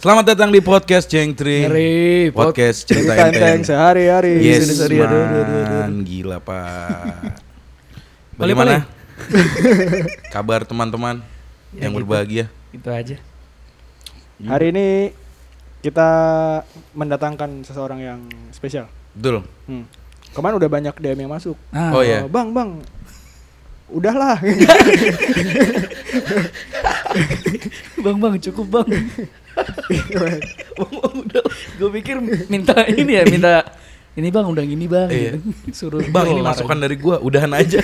Selamat datang di podcast Cengtri. Podcast cerita enteng sehari-hari. Yes man, gila pak. Bagaimana kabar teman-teman yang gitu. berbahagia? Itu aja. Hari ini kita mendatangkan seseorang yang spesial. Betul. Kemarin udah banyak DM yang masuk. Oh iya. Bang, udahlah. Bang, cukup bang. Bang, udah. Gue pikir minta ini ya, ini bang, udah gini bang. Iya. Suruh Bang, ini masukan dari gua, udahan aja.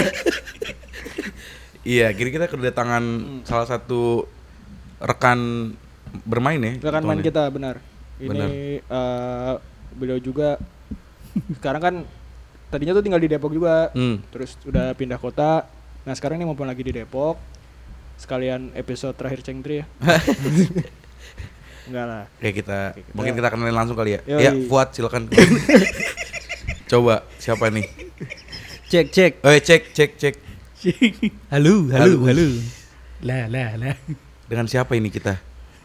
Iya, kita kedatangan salah satu rekan bermain ya. Rekan main kita, benar. Benar. Ini beliau juga sekarang kan tadinya tuh tinggal di Depok juga. Terus udah pindah kota. Nah, sekarang ini mumpung lagi di Depok. Sekalian episode terakhir Cengtri ya. Enggak lah. Kayak mungkin kita kenalin langsung kali ya. Yoi. Ya, Fuad silakan. Coba siapa nih? Cek. Oh, cek. Halo. Halo. Lah. Dengan siapa ini kita?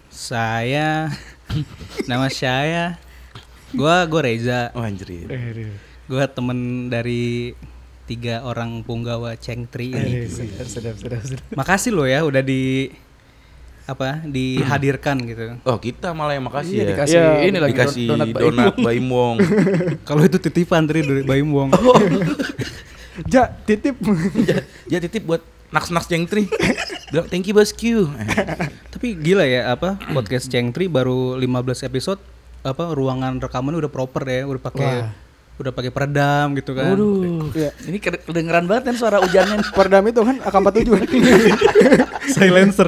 Nama saya gua Reza. Oh anjir. Gua temen dari 3 orang punggawa Cengtri ini. Sedap. Makasih lo ya udah dihadirkan gitu. Oh, kita malah yang makasih Iya, ya. dikasih Iya, ini lagi Dikasih donat donat Baim Wong. Kalau itu titipan dari Baim Wong. Ja, titip. Ya titip buat naks Cengtri. Bilang thank you bosku. Tapi gila ya podcast Cengtri baru 15 episode ruangan rekamannya udah proper ya, udah pakai peredam gitu kan. Waduh. Iya. Ini kedengeran banget kan suara hujannya. Peredam itu kan AK-47. Silencer.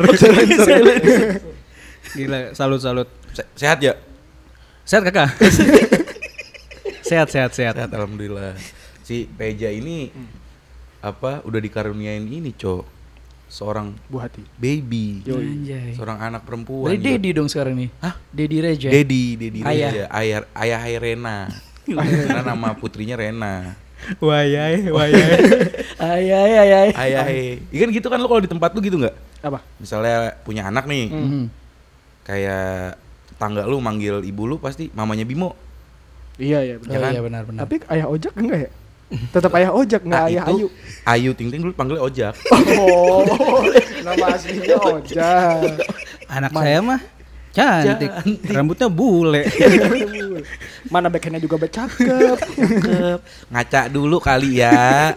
Gila, salut. Sehat ya? Sehat kakak? Sehat. Sehat alhamdulillah. Si Peja ini udah dikaruniain ini, Cok. Seorang Buah hati. baby. Anjay. Seorang anak perempuan. Dari Dedi dong sekarang nih. Hah? Dedi Reja. Dedi Ayah. Reja. Ayah Rena. Karena nama putrinya Rena. Wayai. Ayah. Ikan gitu kan lo kalau di tempat lu gitu nggak? Apa? Misalnya punya anak nih, kayak tetangga lu manggil ibu lu pasti mamanya Bimo. Iya, Oh, kan? iya benar. Tapi ayah ojek enggak ya? Tetap ayah ojek, enggak ayah itu Ayu. Ayu Ting Ting dulu panggilnya Ojak. Oh, nama aslinya ojek. Anak saya mah cantik. Rambutnya bule. Mana backhandnya juga cakep. Ngaca dulu kali ya.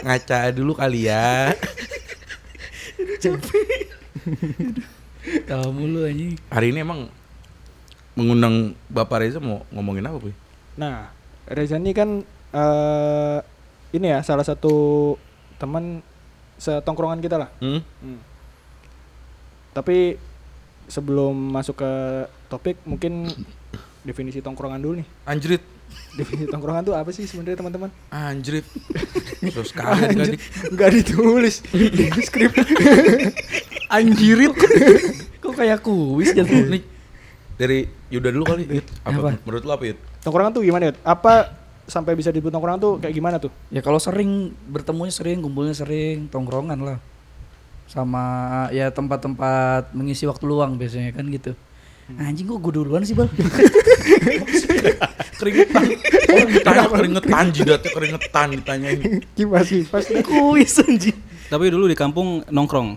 Tahu mulu anjing. Hari ini emang mengundang Bapak Reza mau ngomongin apa, Boy? Nah, Reza ini kan ini ya salah satu teman setongkrongan kita lah. Tapi sebelum masuk ke topik mungkin definisi tongkrongan dulu nih. Anjrit. Definisi tongkrongan tuh apa sih sebenarnya teman-teman? Anjrit. Terus sekali adik-adik. Enggak ditulis di skrip. Anjirit. Kok kayak kuis jatuh. Nih dari Yuda dulu kali. Yud. Apa? Menurut lu apa, Yud? Tongkrongan tuh gimana ya? Apa sampai bisa disebut tongkrongan tuh kayak gimana tuh? Ya kalau sering bertemunya sering, kumpulnya sering, tongkrongan lah. Sama ya tempat-tempat mengisi waktu luang biasanya kan gitu. Anjing kok gue duluan sih, Bal? Keringetan. Oh, ditanya keringetan jidatnya keringetan ditanyain. Gimana sih? Pasti Kuis anjing. Tapi dulu di kampung nongkrong.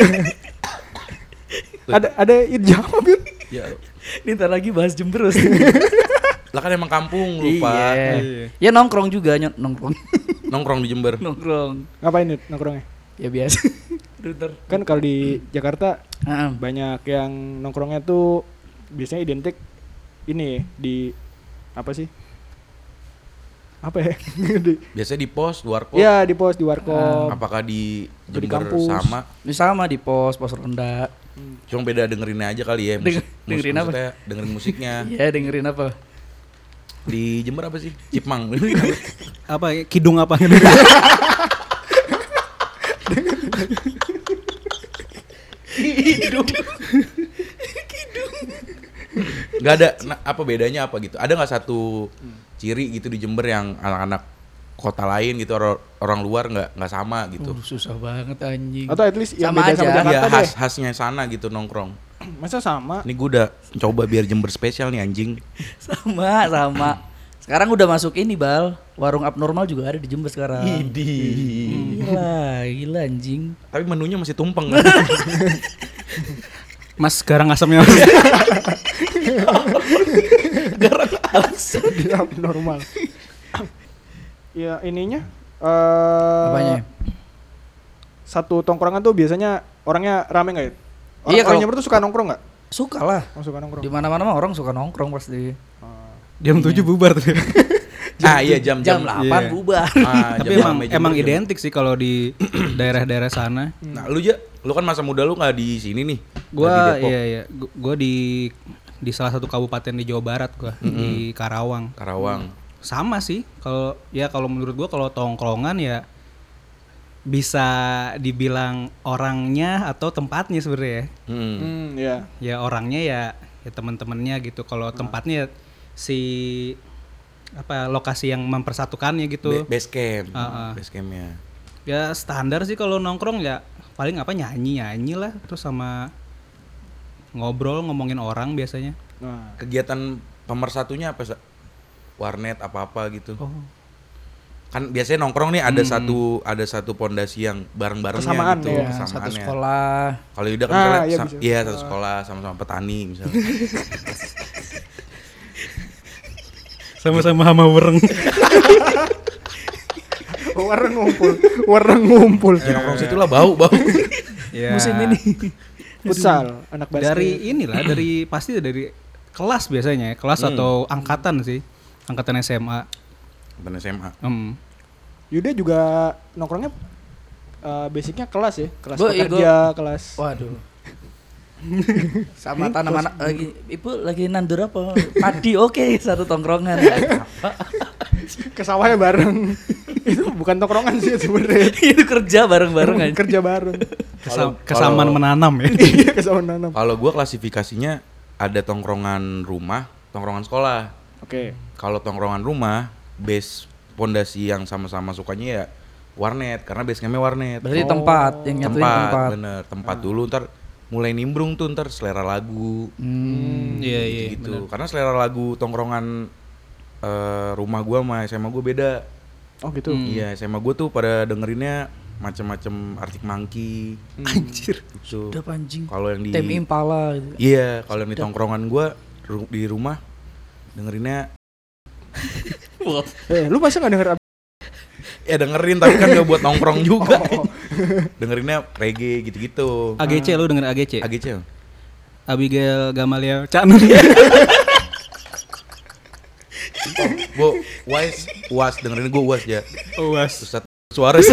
ada jawab Yud. Ya, Ini ntar lagi bahas Jember. lah kan emang kampung lupa. Iya. Ya nongkrong juga, nongkrong. Nongkrong di Jember. Nongkrong. Ngapain Yud nongkrongnya? Ya biasa. Bentar. Kan kalau di Jakarta Heeh. banyak yang nongkrongnya tuh biasanya identik ini di apa sih? Apa ya? Biasanya di pos, luar pos. Iya, di pos, di warkop. Apakah di Atau di Jember kampus. sama? Ini sama di pos rendah. Cuma beda dengerinnya aja kali ya. Dengerin apa? Maksudnya dengerin musiknya. Iya dengerin apa? Di Jember apa sih? Cipmang. Apa kidung apa? Kidung. Gak ada apa bedanya apa gitu. Ada nggak satu ciri gitu di Jember yang anak-anak kota lain gitu orang luar nggak sama gitu. Susah banget anjing. Atau at least yang Sama beda aja. sama Jakarta Iya deh. khasnya sana gitu nongkrong. Masa sama? Ini gue udah coba biar Jember spesial nih anjing. Sama. Sekarang udah masuk ini Bal, warung abnormal juga ada di Jember sekarang. Gila anjing. Tapi menunya masih tumpeng. Mas garang asamnya. Dia abnormal. Ya ininya. Apanya? Satu tongkrongan tuh biasanya orangnya rame nggak ya? Iya, Orang kalau- Jember tuh suka nongkrong nggak? Suka lah. Oh, suka nongkrong. Di mana-mana mah orang suka nongkrong pasti. Jam 7 bubar tuh. Iya jam Jam 8 Iya. bubar. Tapi emang identik sih kalau di daerah-daerah sana. Nah, lu kan masa muda lu nggak di sini nih. Gua gua di salah satu kabupaten di Jawa Barat gua, di Karawang. Sama sih kalau menurut gua kalau tongkrongan ya bisa dibilang orangnya atau tempatnya sebenarnya. Iya. Ya orangnya ya teman-temannya gitu. Kalau tempatnya si lokasi yang mempersatukannya gitu. Base camp. Heeh. Base campnya. Ya standar sih kalau nongkrong ya paling nyanyi lah terus sama ngomongin orang biasanya. Nah, Kegiatan pemersatunya apa? Warnet apa gitu. Oh. Kan biasanya nongkrong nih ada satu pondasi yang bareng-barengnya Kesamaan gitu, ya, kesamaannya. Satu sekolah. Kalau Yuda kan misalnya iya, bisa. satu sekolah sama-sama petani misalnya. Sama-sama hama wereng. wareng ngumpul. Ya nongkrong situ lah bau. Ya. Musim ini. Futsal, anak basket. Dari pasti dari kelas biasanya, kelas atau angkatan sih. Angkatan SMA. Bener SMA. Yuda juga nongkrongnya basicnya kelas ya, kelas Gua- pekerja, kelas. Waduh. Sama tanaman ibu lagi nandur apa? Padi, oke, satu tongkrongan. Ke sawahnya bareng. Itu bukan tongkrongan sih sebenarnya. Itu kerja bareng-bareng aja. Kerja bareng. Kesamaan menanam ya. Iya, ke sawah nanam. Kalau gua klasifikasinya ada tongkrongan rumah, tongkrongan sekolah. Oke. Kalau tongkrongan rumah, base pondasi yang sama-sama sukanya ya warnet karena base campnya warnet. Berarti tempat yang nyatuin tempat. Bener, tempat dulu ntar mulai nimbrung tuh ntar selera lagu. Iya, Gitu. Karena selera lagu tongkrongan rumah gua sama SMA gua beda. Oh gitu. Iya, SMA gua tuh pada dengerinnya macam-macam Arctic Monkey. Anjir. Gitu. Udah anjing. Kalau yang di Tame Impala gitu. Iya, kalau yang di tongkrongan gua di rumah dengerinnya Lu masa nggak denger? ya dengerin tapi kan gak buat nongkrong juga. Dengerinnya reggae gitu-gitu. AGC lu denger AGC? AGC. Abigail Gamaliel Canun. Gua UAS dengerin gua UAS ya. UAS. Ustaz Suarez.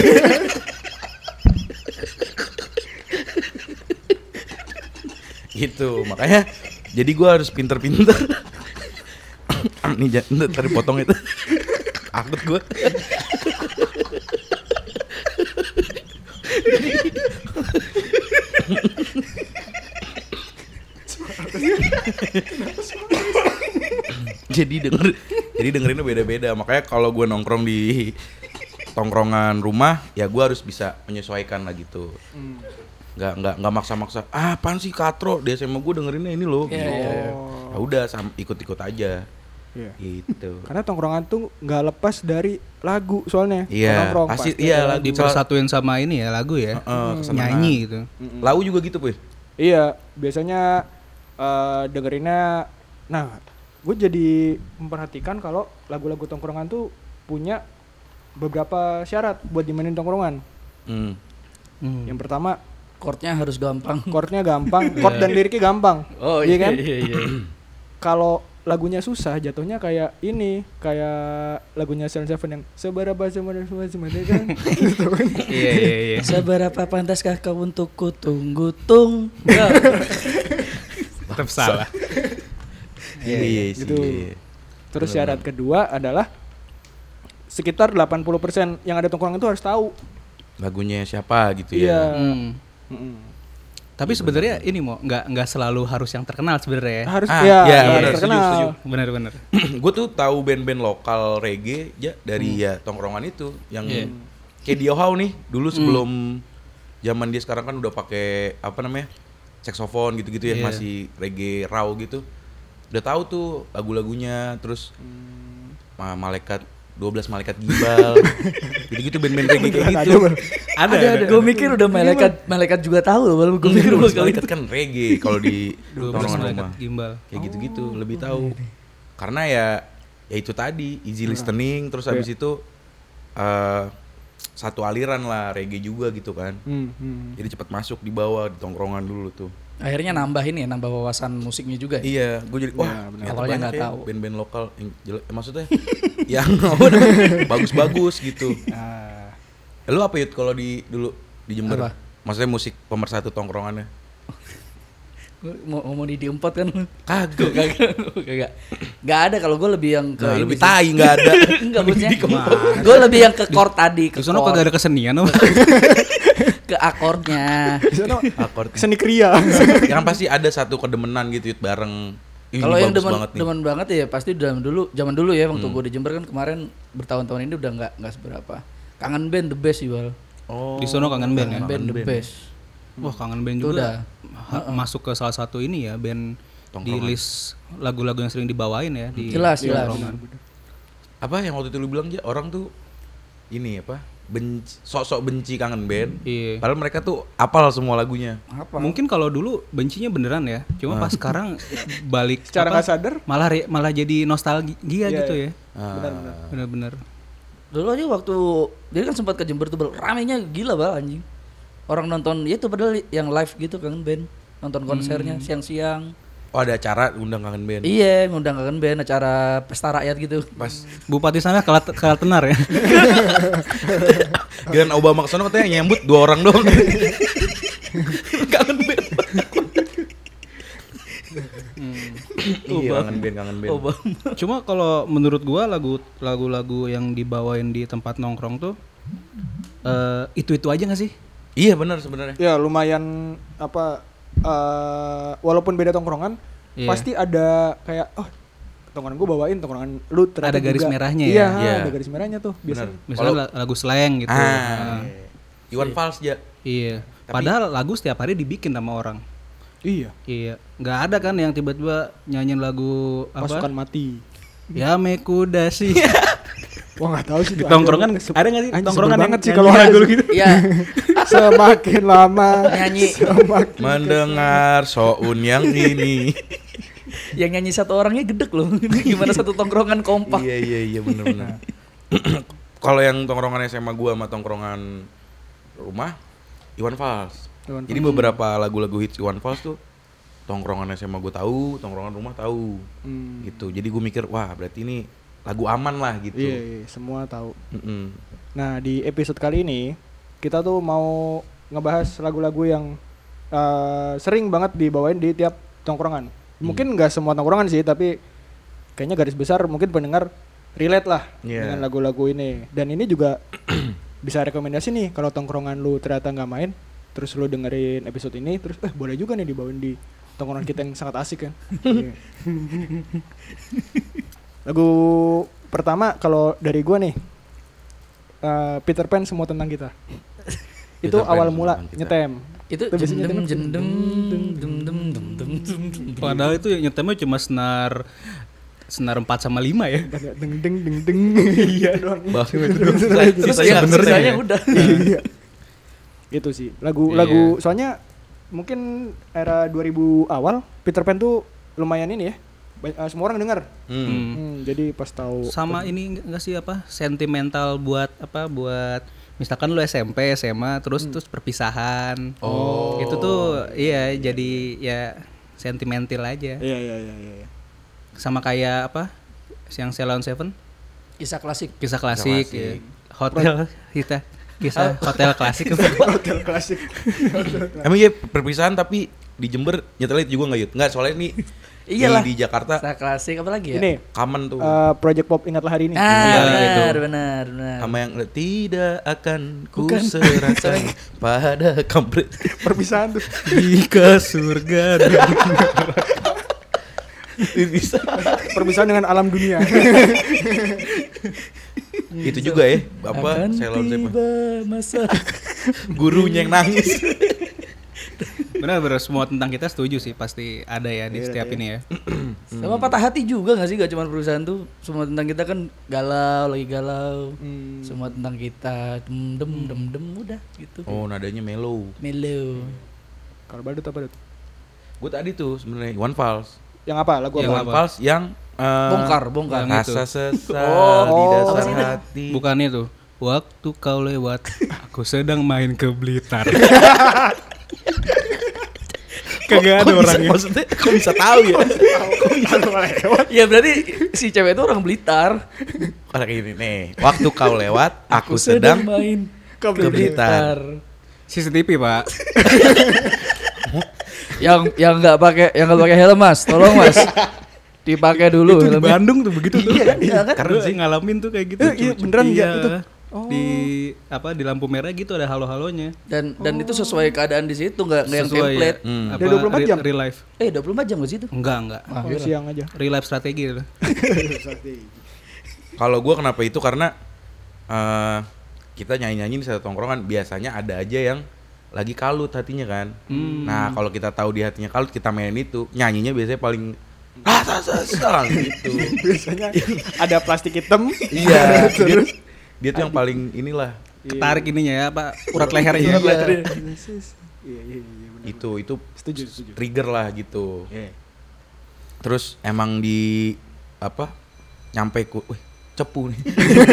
Gitu, makanya jadi gua harus pinter-pinter. Nih tadi potong itu. Akut gua. jadi dengerinnya beda-beda. Makanya kalau gue nongkrong di tongkrongan rumah, ya gue harus bisa menyesuaikan lah gitu. Nggak maksa-maksa. Apaan sih Katro? Di SMA gue dengerinnya ini loh. Gitu. Ya udah ikut-ikut aja. Iya. Gitu. Karena tongkrongan tuh nggak lepas dari lagu soalnya. Iya, Nongkrong pasti pasti iya ada lagu. Dipersatuin sama ini ya lagu ya. Kesenangan. Nyanyi gitu. Lau juga gitu, Puy. Iya, biasanya dengerinnya. Nah, gue jadi memperhatikan kalau lagu-lagu tongkrongan tuh punya beberapa syarat buat dimainin tongkrongan. Yang pertama, Chordnya harus gampang. chordnya gampang, chord dan liriknya gampang. Oh iya kan? Iya. Kalau lagunya susah, jatuhnya kayak ini, kayak lagunya Celine Seven yang seberapa semuanya kan. Gitu kan. Iya. Seberapa pantaskah kau untuk ku tunggu tung? Tetap salah. Iya sih. Gitu. Terus syarat kedua adalah sekitar 80% yang ada tongkrongan itu harus tahu. Lagunya siapa gitu Iya. ya. Tapi sebenarnya ini mau nggak selalu harus yang terkenal sebenarnya. Harus iya, harus benar, terkenal. setuju. Benar. Gue tuh tahu band-band lokal reggae ya dari ya tongkrongan itu yang kayak Dio How nih dulu sebelum zaman dia sekarang kan udah pakai apa namanya saksofon gitu-gitu ya, Iya. masih reggae raw gitu. Udah tahu tuh lagu-lagunya, terus malaikat 12 malaikat gimbal. Gitu-gitu band-band reggae kayak gitu. Ada. Gue mikir udah malaikat juga tahu loh, baru gue mikir bakal Malaikat kan reggae kalau di 12 tongkrongan malaikat rumah. gimbal. Kayak gitu-gitu, lebih tahu. Karena ya itu tadi easy listening, terus habis itu satu aliran lah reggae juga gitu kan. Jadi cepat masuk di bawah di tongkrongan dulu tuh. Akhirnya nambah wawasan musiknya juga ya. Iya, gue jadi wah ternyata Awalnya banyak nggak ya tahu. band-band lokal yang jelek, maksudnya yang bagus-bagus gitu. Lu apa Yud kalau dulu di Jember? Apa? Maksudnya musik pemersatu tongkrongannya? Mau diempot kan? Kagak. Gak ada, kalau gue lebih yang ke Nah, ini lebih sih. tai nggak ada. Enggak, maksudnya gue lebih yang ke chord tadi, ke Di sana chord, kagak ada kesenian apa? ke akordnya. Di sana Akord. seni kriya. Yang pasti ada satu kedemenan gitu Yud, bareng. Ih, Kalau ini yang bagus banget nih. demen banget ya pasti zaman dulu ya, waktu gue di Jember kan kemarin, bertahun-tahun ini udah nggak seberapa. Kangen Band the best sih, Bal. Oh. Di sono kangen band ya. Kangen Band the best. Wah, kangen band Itu juga. Masuk ke salah satu ini ya, band di Tongkrongan. list lagu-lagu yang sering dibawain ya di Jelas. tongkrongan. Apa yang waktu itu lu bilang aja orang tuh ini apa? Sok-sok benci kangen band. Iya. Padahal mereka tuh apal semua lagunya. Apa? Mungkin kalau dulu bencinya beneran ya, cuma pas sekarang balik Secara nggak sadar. malah jadi nostalgia Iya, gitu iya. ya. Bener-bener. Dulu aja waktu dia kan sempat ke Jember tuh, Bal. Ramenya gila, Bal, anjing. Orang nonton ya itu padahal yang live gitu Kangen Band. Nonton konsernya siang-siang. Oh, ada acara undang kangen band. Iya, ngundang Kangen Band, acara pesta rakyat gitu. Pas Bupati sana kalah tenar ya. Giliran Obama kesana katanya nyambut 2 orang doang. Kangen band. Iya, kangen band. Obama. Cuma kalau menurut gua lagu-lagu yang dibawain di tempat nongkrong tuh itu aja gak sih? Iya benar sebenarnya. Ya lumayan apa walaupun beda tongkrongan Iya. pasti ada kayak tongkrongan gue bawain tongkrongan lu ternyata Ada garis juga. merahnya ya? Iya, Iya. ada garis merahnya tuh biasanya. Misalnya lagu slang gitu. Ah, Iwan Fals ya. Iya. Padahal lagu setiap hari dibikin sama orang. Iya. Iya. Nggak ada kan yang tiba-tiba nyanyiin lagu apa? Pasukan mati. Ya mekuda sih. Wah nggak tahu sih. Di tongkrongan ada nggak sih Anjing, tongkrongan sebel yang banget sih nyanyi kalau lagu ada. gitu? Iya. Semakin lama Nyanyi. semakin Mendengar soun yang ini. Yang nyanyi satu orangnya gedek loh. Gimana satu tongkrongan kompak. Iya benar. Kalau yang tongkrongan SMA gua sama tongkrongan rumah Iwan Fals. Iwan Jadi beberapa lagu-lagu hits Iwan Fals tuh tongkrongan SMA gua tahu, tongkrongan rumah tahu. Gitu. Jadi gua mikir, wah berarti ini lagu aman lah gitu. Iya, semua tahu. Mm-mm. Nah di episode kali ini kita tuh mau ngebahas lagu-lagu yang sering banget dibawain di tiap tongkrongan. Mungkin nggak semua tongkrongan sih, tapi kayaknya garis besar mungkin pendengar relate lah Iya. dengan lagu-lagu ini. Dan ini juga bisa rekomendasi nih kalau tongkrongan lu ternyata nggak main, terus lu dengerin episode ini, terus boleh juga nih dibawain di tongkrongan kita yang sangat asik kan. Iya. Lagu pertama kalau dari gua nih Peter Pan Semua Tentang Kita. Itu Peter Pan awal Semua mula Tentang Kita. nyetem. Itu biasanya jendem nyetem. jendem dum dum dum dum dum dum. Padahal itu nyetemnya cuma senar 4 sama 5 ya. Deng deng deng deng. Iya doang. Sisanya bener Sisanya ya. udah. Iya. Itu sih. Lagu soalnya mungkin era 2000 awal Peter Pan tuh lumayan ini ya. Semua orang dengar. Jadi pas tahu Sama ini enggak sih apa? Sentimental buat misalkan lu SMP, SMA terus perpisahan. Oh. Itu tuh iya jadi ya sentimental aja. Iya. Sama kayak apa? Yang Ceylon Seven, Kisah klasik. kisah klasik, klasik. ya. Hotel kisah hotel klasik. hotel klasik. Emang iya perpisahan tapi di Jember nyetelin juga nggak Yud? Nggak, soalnya ini Iyalah. di Jakarta Kisah klasik apa lagi ya? Ini common tuh. Project Pop Ingatlah Hari Ini. Benar. Sama yang tidak akan ku serahkan pada kampret Perpisahan tuh. Jika surga dan bisa. Perpisahan dengan alam dunia. Itu juga ya, apa Akan Ceylon Seven. tiba masa. Gurunya yang nangis. Benar-benar semua tentang kita setuju sih, pasti ada ya di setiap ini ya. Sama patah hati juga gak sih? Gak cuma perusahaan tuh. Semua tentang kita kan galau, lagi galau. Semua tentang kita dem udah gitu. Oh, nadanya mellow. Mellow. Kalau badut apa badut? Gue tadi tuh sebenarnya One Falls. Yang apa? Lagu Yang apa? One Falls yang Bongkar. Yang rasa itu. sesal Oh, di apa dasar sih itu? hati. Bukan itu. Waktu kau lewat, aku sedang main ke Blitar. Kagak ada orangnya. Maksudnya kok bisa tahu ya? Ya berarti si cewek itu orang Blitar. Kayak gini nih. Waktu kau lewat, aku sedang main ke Blitar. CCTV, Pak. yang nggak pakai helm Mas, tolong Mas. Dipakai dulu Itu di helmnya. Bandung tuh begitu tuh. Iya kan? Karena sih ngalamin tuh kayak gitu. Iya, beneran ya itu? Di di lampu merah gitu ada halo-halonya. Dan itu sesuai keadaan di situ, nggak yang Sesuai template. Hmm. Apa, Udah 24 jam? Real life. 24 jam gak sih itu? Enggak. Ah, Oh, siang aja. Real life strategi itu. Kalau gue kenapa itu karena kita nyanyi-nyanyi di satu tongkrongan biasanya ada aja yang lagi kalut hatinya kan. Nah kalau kita tahu di hatinya kalut kita main itu nyanyinya biasanya paling gitu. Biasanya ada plastik hitam. Iya. Dia tuh yang paling inilah. Ketarik ininya ya, apa urat lehernya. Iya, bener. Itu Setuju. trigger lah gitu. Terus emang di apa nyampe cepu nih.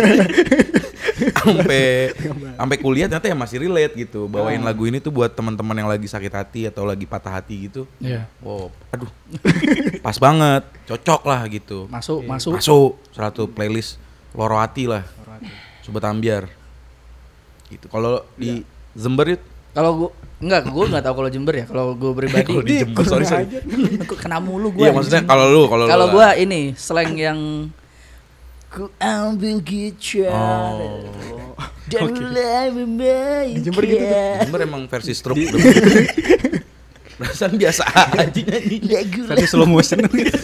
sampai kuliah ternyata ya masih relate gitu. Bawain lagu ini tuh buat teman-teman yang lagi sakit hati atau lagi patah hati gitu. Iya. Wow, aduh. Pas banget, cocok lah gitu. Masuk. Masuk satu playlist Loro Hati lah. Sobat Ambiar. Gitu. Kalau di Jember itu Kalau gue nggak tahu kalau Jember ya. Kalau gue pribadi, kalau di Jember sorry. Aku kena mulu gue. Iya maksudnya kalau lu Kalau gue ini slang yang ku ambil gitar dan mulai memainkan. Jember gitu tuh. Jember emang versi stroke. Perasaan biasa aja nyanyi. Versi slow motion.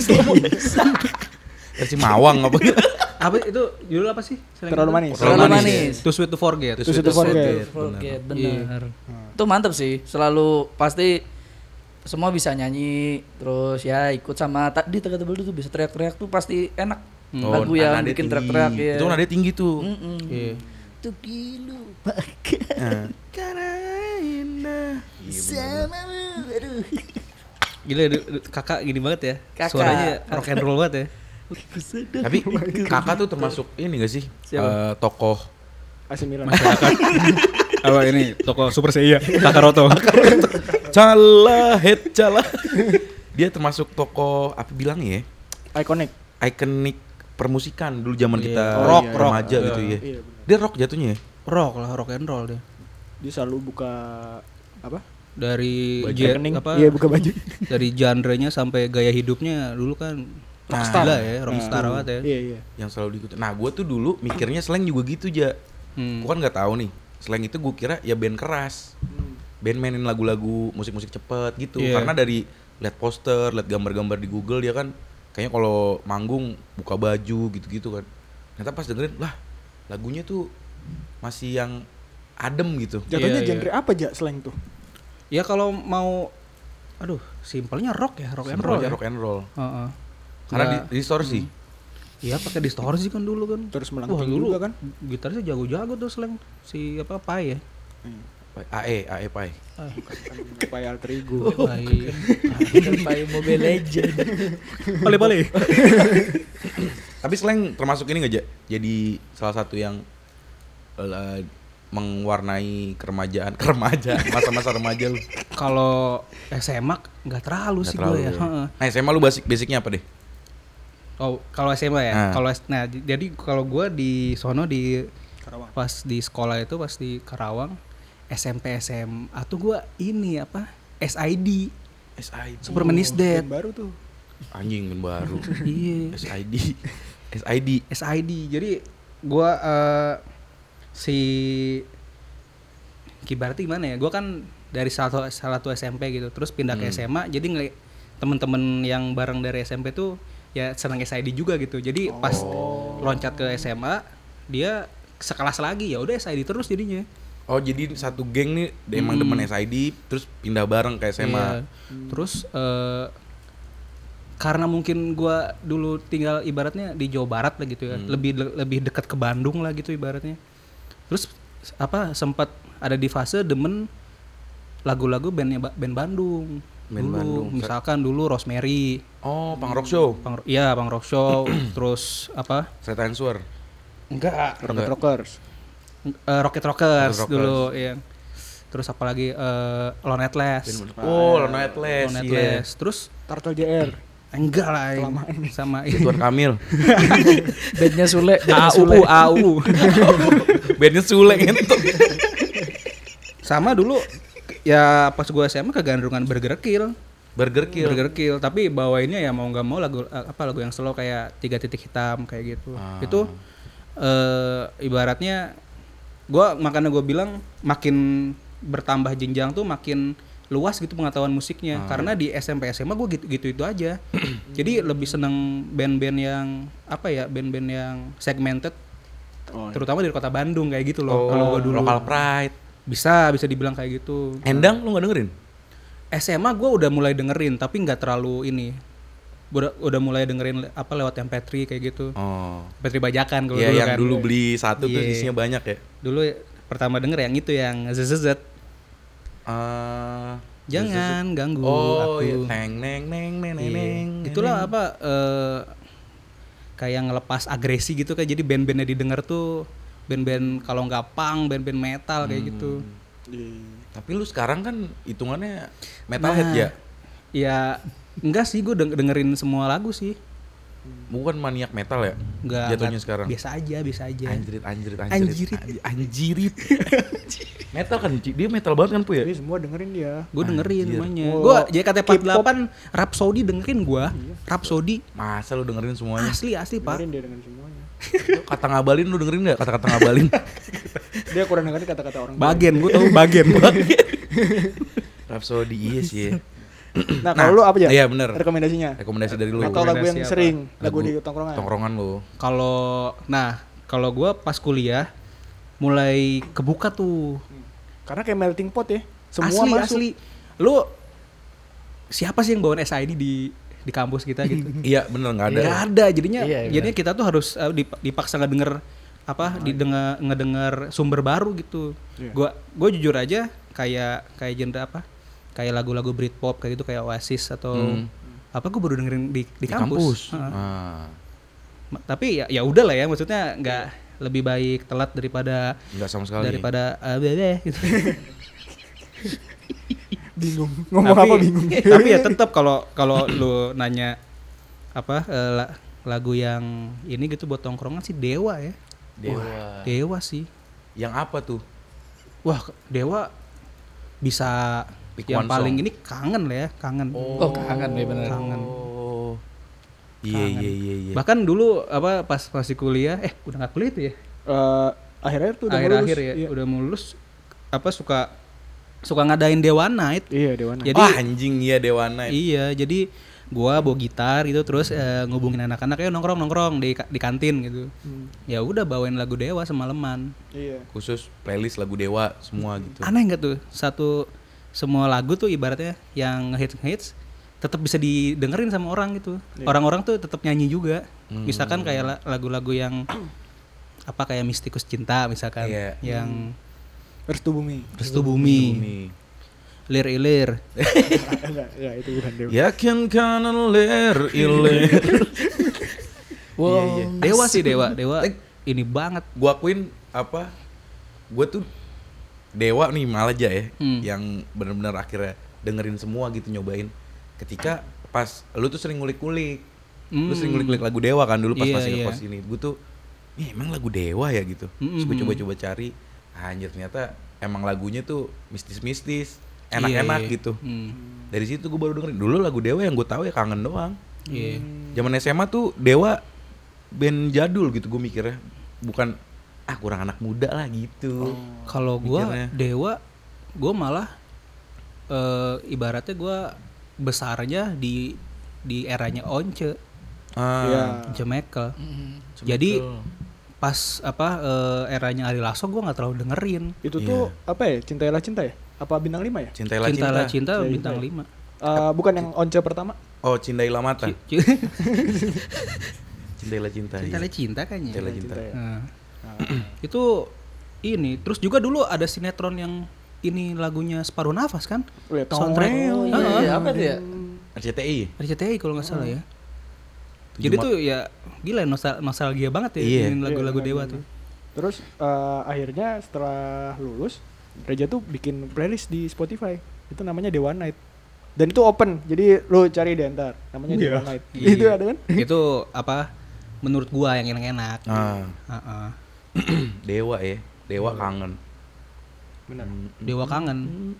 Versi Mawang apa gitu. Apa itu judul apa sih? Terlalu manis. Terlalu manis. Too Sweet to Forget. Too Sweet to Forget. Forget, Benar. benar. Itu mantep sih. Selalu pasti semua bisa nyanyi, terus ya ikut sama di Tega Tebel itu bisa teriak-teriak tuh pasti enak. Lagu yang nadanya bikin tinggi. teriak-teriak ya. Itu nadanya tinggi tuh. Iya. Tuh dilupakan Karena indah. samamu. Aduh. Gila kakak gini banget ya. Kakak. Suaranya rock and roll banget ya. Tapi kakak tuh termasuk ini gak sih? Tokoh AC Milan. Masyarakat. Apa ini toko Super Seiya Kakak Roto. Cala. Dia termasuk tokoh apa bilang ya? Ikonik permusikan dulu zaman kita Rock, remaja rock. gitu ya. Iya, bener. Dia rock jatuhnya ya? Rock lah, rock and roll dia. Dia selalu buka apa? Dari Rekening. apa? Iya, buka baju. Dari genre-nya sampai gaya hidupnya dulu kan rockstar lah ya, rockstar banget ya. Iya. Yang selalu diikutin. Nah, gue tuh dulu mikirnya slang juga gitu aja. Gue kan nggak tahu nih. Slang itu gue kira ya band keras. Band mainin lagu-lagu musik-musik cepet gitu. Iya. Karena dari lihat poster, lihat gambar-gambar di Google dia kan kayaknya kalau manggung buka baju gitu-gitu kan. Ternyata pas dengerin, lah lagunya tuh masih yang adem gitu. Jatuhnya Iya, genre apa aja slang tuh? Ya kalau mau simpelnya rock ya, rock and roll. Simpel aja, Ya. rock and roll. Heeh. Karena Nggak- distorsi. Iya pakai distorsi kan dulu kan. Terus Wah melengking dulu juga kan? Gitarisnya jago-jago tuh slang si apa Pai ya. AE Pai. Kayak alter ego. Pai. Pai Mobile Legend. Pale. Tapi slang termasuk ini nggak Ja? Jadi salah satu yang mewarnai keremajaan masa-masa remaja lu. Kalau SMA nggak terlalu Nggak sih terlalu gue ya. ya. Heeh. Nah SMA lu basicnya apa deh? Oh, kalau SMA ya. Nah. Jadi kalau gue di sono di Karawang. pas di sekolah itu pas di Karawang SMP SMA tuh gue ini apa SID SID. Superman is Dead. Band baru tuh. Anjing kan baru. Iya. SID. SID. Jadi gue si kibarti gimana ya? Gue kan dari salah satu SMP gitu, terus pindah ke SMA. Jadi temen-temen yang bareng dari SMP tuh ya senang SID juga gitu. Jadi pas loncat ke SMA dia sekelas lagi ya udah SID terus jadinya. Oh jadi satu geng nih emang demen SID terus pindah bareng ke SMA. Iya. Terus karena mungkin gua dulu tinggal ibaratnya di Jawa Barat lah gitu ya, lebih dekat ke Bandung lah gitu ibaratnya. Terus sempat ada di fase demen lagu-lagu band Bandung. Band dulu, Bandung. Misalkan dulu Rosemary. Oh, punk rock show. Punk rock show. Terus Straight Answer. Enggak. Rocket Rockers. Rocket Rockers dulu ya. Terus apalagi Lone Atlas. Oh, Lone Atlas. Lone Iya. Atlas. Terus Turtle JR. enggak lah sama Ridwan Kamil. Bandnya Sule. AU. Bandnya Sule gitu. Sama dulu ya pas gua SMA kegandrungan Burger Kill. Burger Kill. Tapi bawainnya ya mau nggak mau lagu yang slow kayak 3 titik hitam kayak gitu. Itu ibaratnya makanya gue bilang makin bertambah jenjang tuh makin luas gitu pengetahuan musiknya. Karena di SMP SMA gue gitu aja. Jadi lebih seneng band-band yang band-band yang segmented. Terutama dari kota Bandung kayak gitu loh. Kalau gue dulu Local Pride. bisa dibilang kayak gitu. Endang lu nggak dengerin? SMA gue udah mulai dengerin tapi nggak terlalu ini. Udah mulai dengerin lewat MP3 kayak gitu. Oh. MP3 bajakan kalau Iya, dulu yang kan. dulu beli satu tuh Iya. isinya banyak ya. Dulu pertama denger yang itu yang ZZZ. Jangan ganggu Oh, aku. iya. Neng neng neng neng Iya. neng. Itulah kayak ngelepas agresi gitu kan. Jadi band-bandnya didengar tuh band-band kalau nggak punk, band-band metal kayak gitu. Tapi lu sekarang kan hitungannya metalhead ya? Ya enggak sih, gue dengerin semua lagu sih. Bukan maniak metal ya? Enggak. Jatuhnya sekarang. Biasa aja. Anjirit. Metal kan, dia metal banget kan Pu ya? Jadi semua dengerin dia. Gue dengerin semuanya. Wow. Gue JKT48 Rhapsody dengerin gue. Rhapsody Masa lu dengerin semuanya? asli Pak. Dengerin dia dengan semuanya. Kata ngabalin lu dengerin gak? Kata-kata ngabalin. Dia kurang dengerin kata-kata orang. Bagian gue tahu bagian. Rhapsody iya sih ya. Nah, kalau lu apa aja? Iya bener. Rekomendasinya. Rekomendasi dari lu. Atau lagu yang Rekomendasi apa? sering, lagu di tongkrongan. Tongkrongan lu. Kalau gue pas kuliah mulai kebuka tuh. Karena kayak melting pot ya. Semua masuk. Asli. Lu siapa sih yang bawain SID di kampus kita gitu? Iya bener nggak ada. Nggak ada. Jadinya Iya, jadinya kita tuh harus dipaksa ngedenger ngedenger sumber baru gitu. Iya. Gue jujur aja kayak genre kayak lagu-lagu Britpop kayak gitu, kayak Oasis atau gue baru dengerin di kampus. Tapi ya udah lah ya, maksudnya nggak lebih baik telat daripada Nggak sama sekali. gitu. Bingung. Ngomong apa bingung. Tapi ya tetap kalau lu nanya lagu yang ini gitu buat tongkrongan sih Dewa ya. Dewa sih. Yang apa tuh? Wah, Dewa bisa Pick yang one paling song. ini kangen lah ya, kangen. Oh, kangen ya benar. Kangen. Oh. Iya. Bahkan dulu pas masih kuliah, udah nggak kuliah tuh ya. Akhir-akhir tuh udah mau Akhir-akhir lulus. ya, Iya. udah mau lulus suka ngadain Dewa Night. Iya, Dewana. Jadi Wah anjing iya Dewana. iya, jadi gua bawa gitar gitu terus ngubungin anak-anak nongkrong di kantin gitu. Ya udah bawain lagu Dewa semalaman. Iya. Khusus playlist lagu Dewa semua gitu. Aneh nggak tuh? Semua lagu tuh ibaratnya yang hits tetap bisa didengerin sama orang gitu. Iya. Orang-orang tuh tetap nyanyi juga. Misalkan kayak lagu-lagu yang kayak Mistikus Cinta misalkan, Iya. yang Restu Bumi. Restu Bumi, Lir Ilir. Enggak, ya itu bukan Dewa. Yakin kan ler ilir. Wow. Iya. Dewa sih Dewa ini banget. Gua akuin gua tuh Dewa nih malah aja ya, yang benar-benar akhirnya dengerin semua gitu, nyobain. Ketika pas lu tuh sering ngulik-ngulik, lu sering ngulik-ngulik lagu Dewa kan dulu pas Iya, masih iya. ngekos ini. Gua tuh, emang lagu Dewa ya gitu. Terus gua coba-coba cari, anjir ternyata emang lagunya tuh mistis-mistis, enak-enak Iya. gitu. Dari situ gua baru dengerin. Dulu lagu Dewa yang gua tahu ya Kangen doang. Iya. Zaman SMA tuh Dewa band jadul gitu gua mikirnya, bukan kurang anak muda lah gitu. Kalau gua Mikirnya. Dewa, gua malah ibaratnya gua besarnya di eranya Once, Ah, Iya. Once Mekel. Jadi pas eranya Ari Lasso gue nggak terlalu dengerin. Itu tuh apa ya? Cintailah Cinta ya? Apa Bintang 5 ya? Cintailah Cinta Cinta bintang ya. 5. Bukan yang Once pertama. Oh, Cindailah Mata. Cintailah Cinta. Cintailah Iya. Cinta kayaknya. Cintailah Cinta. ya. Nah, itu ini. Terus juga dulu ada sinetron yang ini lagunya Separuh Nafas kan? Oh ya, Soundtrack. Oh iya, apa tuh ya? RCTI. RCTI kalau nggak salah ya. Tujuh Jadi ma- tuh ya gila nostalgia banget ya Iya. ini lagu-lagu Iya, Dewa benar, tuh. Terus akhirnya setelah lulus Reja tuh bikin playlist di Spotify. Itu namanya Dewa Night. Dan itu open. Jadi lu cari di enter. Namanya Dewa Night. Iya. Itu ada kan? Itu apa? Menurut gua yang enak-enak. Ah, Heeh. Dewa ya. Dewa kangen. Benar. Dewa kangen.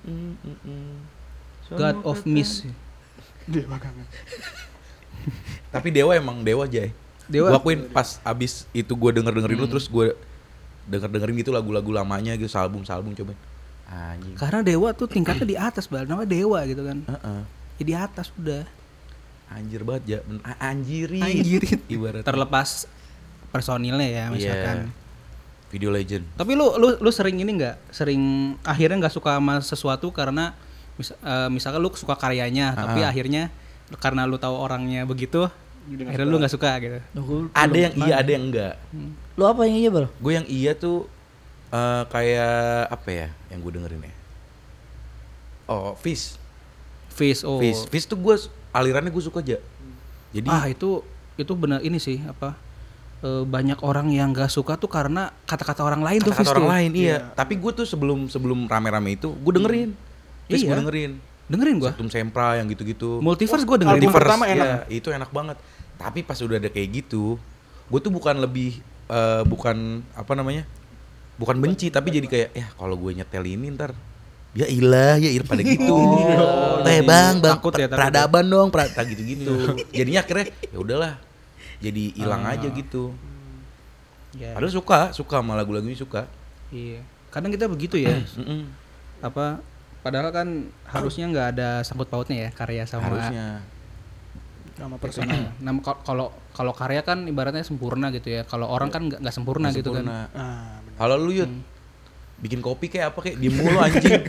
God of Miss. Dewa kangen. Tapi Dewa emang Dewa Jay. Dewa. Gua akuin pas abis itu gue dengerin lu terus gue dengerin gitu lagu-lagu lamanya gitu, album coba. Anjing. Karena Dewa tuh tingkatnya di atas, Bal. Namanya Dewa gitu kan. Heeh. Ya di atas udah. Anjir banget ya. Anjirin. Ibarat Terlepas personilnya ya misalkan. Video Legend. Tapi lu sering ini nggak? Sering akhirnya nggak suka sama sesuatu karena misalkan lu suka karyanya, tapi akhirnya karena lu tahu orangnya begitu, akhirnya lu nggak suka gitu. Ada yang iya, ada yang enggak. Lu apa yang iya, Bal? Gue yang iya tuh kayak apa ya yang gue dengerin ya? Oh, Fish. Face oh. Fish tuh gue alirannya gue suka aja. Jadi itu benar ini sih apa? Banyak orang yang nggak suka tuh karena kata-kata orang lain tuh Fish kata-kata orang tuh. lain iya. Tapi gue tuh sebelum rame-rame itu gue dengerin. Fish Iya. gue dengerin. Dengerin gua. Septum Sempra yang gitu-gitu. Multiverse gua dengerin. album pertama enak. ya, itu enak banget. Tapi pas udah ada kayak gitu, gue tuh bukan apa namanya? Bukan benci, tapi jadi kayak ya kalau gue nyetel ini ntar ya ilah pada gitu. Bang, Takut ya, takut peradaban dong, gitu-gitu. Jadinya akhirnya ya udahlah. Jadi hilang aja gitu. Ya. Padahal suka sama lagu-lagunya suka. Iya. Kadang kita begitu ya. Mm-mm. Apa? Padahal kan harusnya nggak ada sangkut pautnya ya karya sama Harusnya. Nama personal. Nah, kalau karya kan ibaratnya sempurna gitu ya. Kalau orang kan nggak sempurna Nggak gitu sempurna. kan. Benar. Kalau lu Yud, bikin kopi kayak apa kayak diem mulu anjing.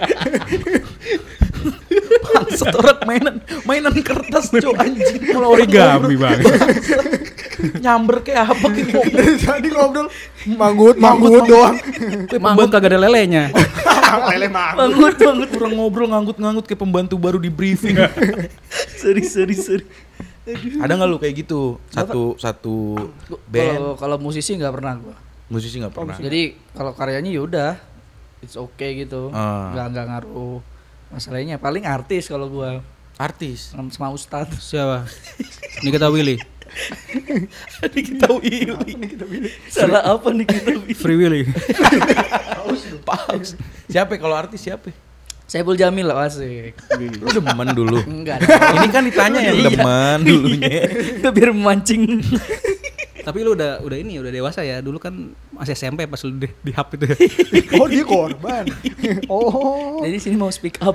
Bangsat orang mainan kertas cok anjing. Kalau origami banget. Nyamber kayak apa kayak Dari tadi ngobrol manggut doang. Manggut kagak ada lelenya. Lele Nganggut orang ngobrol nganggut kayak pembantu baru di briefing. Sorry. Ada nggak lu kayak gitu? Satu band Kalau musisi nggak pernah gua. musisi nggak pernah. Jadi kalau karyanya yaudah, it's okay gitu. Ah. Nggak ngaruh masalahnya. Paling artis kalau gua Artis. sama Ustadz. Siapa? Nikita Willy. Kita Willy. Salah apa nih kita? Free Willy. Paus. Siapa kalau artis siapa? Saiful Jamil lah asik. Lu demen dulu. Enggak. Ini kan ditanya yang demen dulunya. Biar memancing. Tapi lu udah dewasa ya. Dulu kan masih SMP pas lu di hub itu. Oh dia korban. Oh. Jadi sini mau speak up.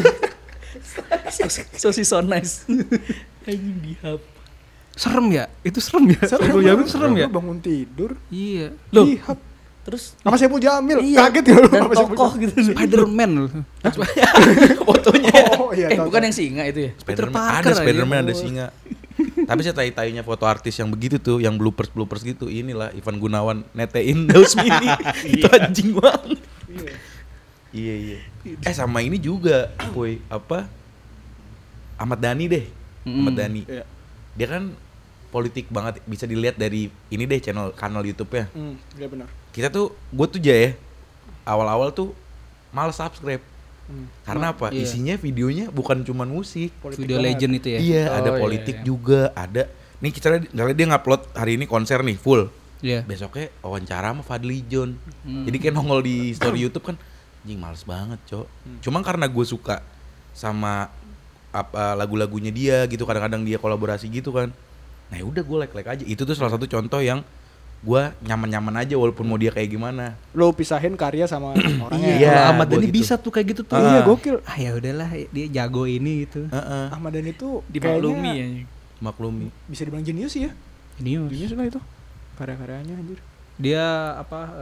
so nice. Anjing dihap. Serem ya? Itu serem ya? Saiful Jamil serem ya? Lu bangun tidur. Iya. Loh. Terus Sama Saiful Jamil. iya, Kaget ya lu dan sama Saiful tokoh Jamil. gitu. Spiderman loh. Fotonya. Oh iya. tahu, Bukan tahu. yang singa itu ya? Spiderman Parker ada aja. Spiderman ada singa. Tapi saya tai-tainya foto artis yang begitu tuh, yang bloopers gitu. Inilah Ivan Gunawan netein Daus Mini. Itu anjing banget. Iya. Sama ini juga, boy, apa? Ahmad Dhani deh. Ahmad Dhani. Iya. Dia kan politik banget, bisa dilihat dari ini deh kanal YouTube-nya. Iya benar. Gue tuh ya awal-awal tuh malas subscribe. Karena apa? Iya. Isinya videonya bukan cuman musik. Video Legend itu ya. Iya, ada Oh, politik iya. juga, ada. Nih misalnya dia ngupload hari ini konser nih full. Iya. Besoknya wawancara sama Fadly John. Jadi kayak nongol di story YouTube kan, anjing males banget, Cok. Cuma karena gue suka sama lagu-lagunya dia gitu, kadang-kadang dia kolaborasi gitu kan. Nah, ya udah gue like aja. Itu tuh salah satu contoh yang gue nyaman-nyaman aja walaupun mau dia kayak gimana. Lo pisahin karya sama orangnya. Iya. Kalau Ahmad gua Dhani gitu. bisa tuh kayak gitu tuh. Iya gokil. Ah ya udahlah dia jago ini gitu. Heeh, Ahmad Dhani itu Dimaklumi ya. maklumi. bisa dibilang jenius sih ya. Genius. Jenius lah itu. Karya-karyanya anjir. Dia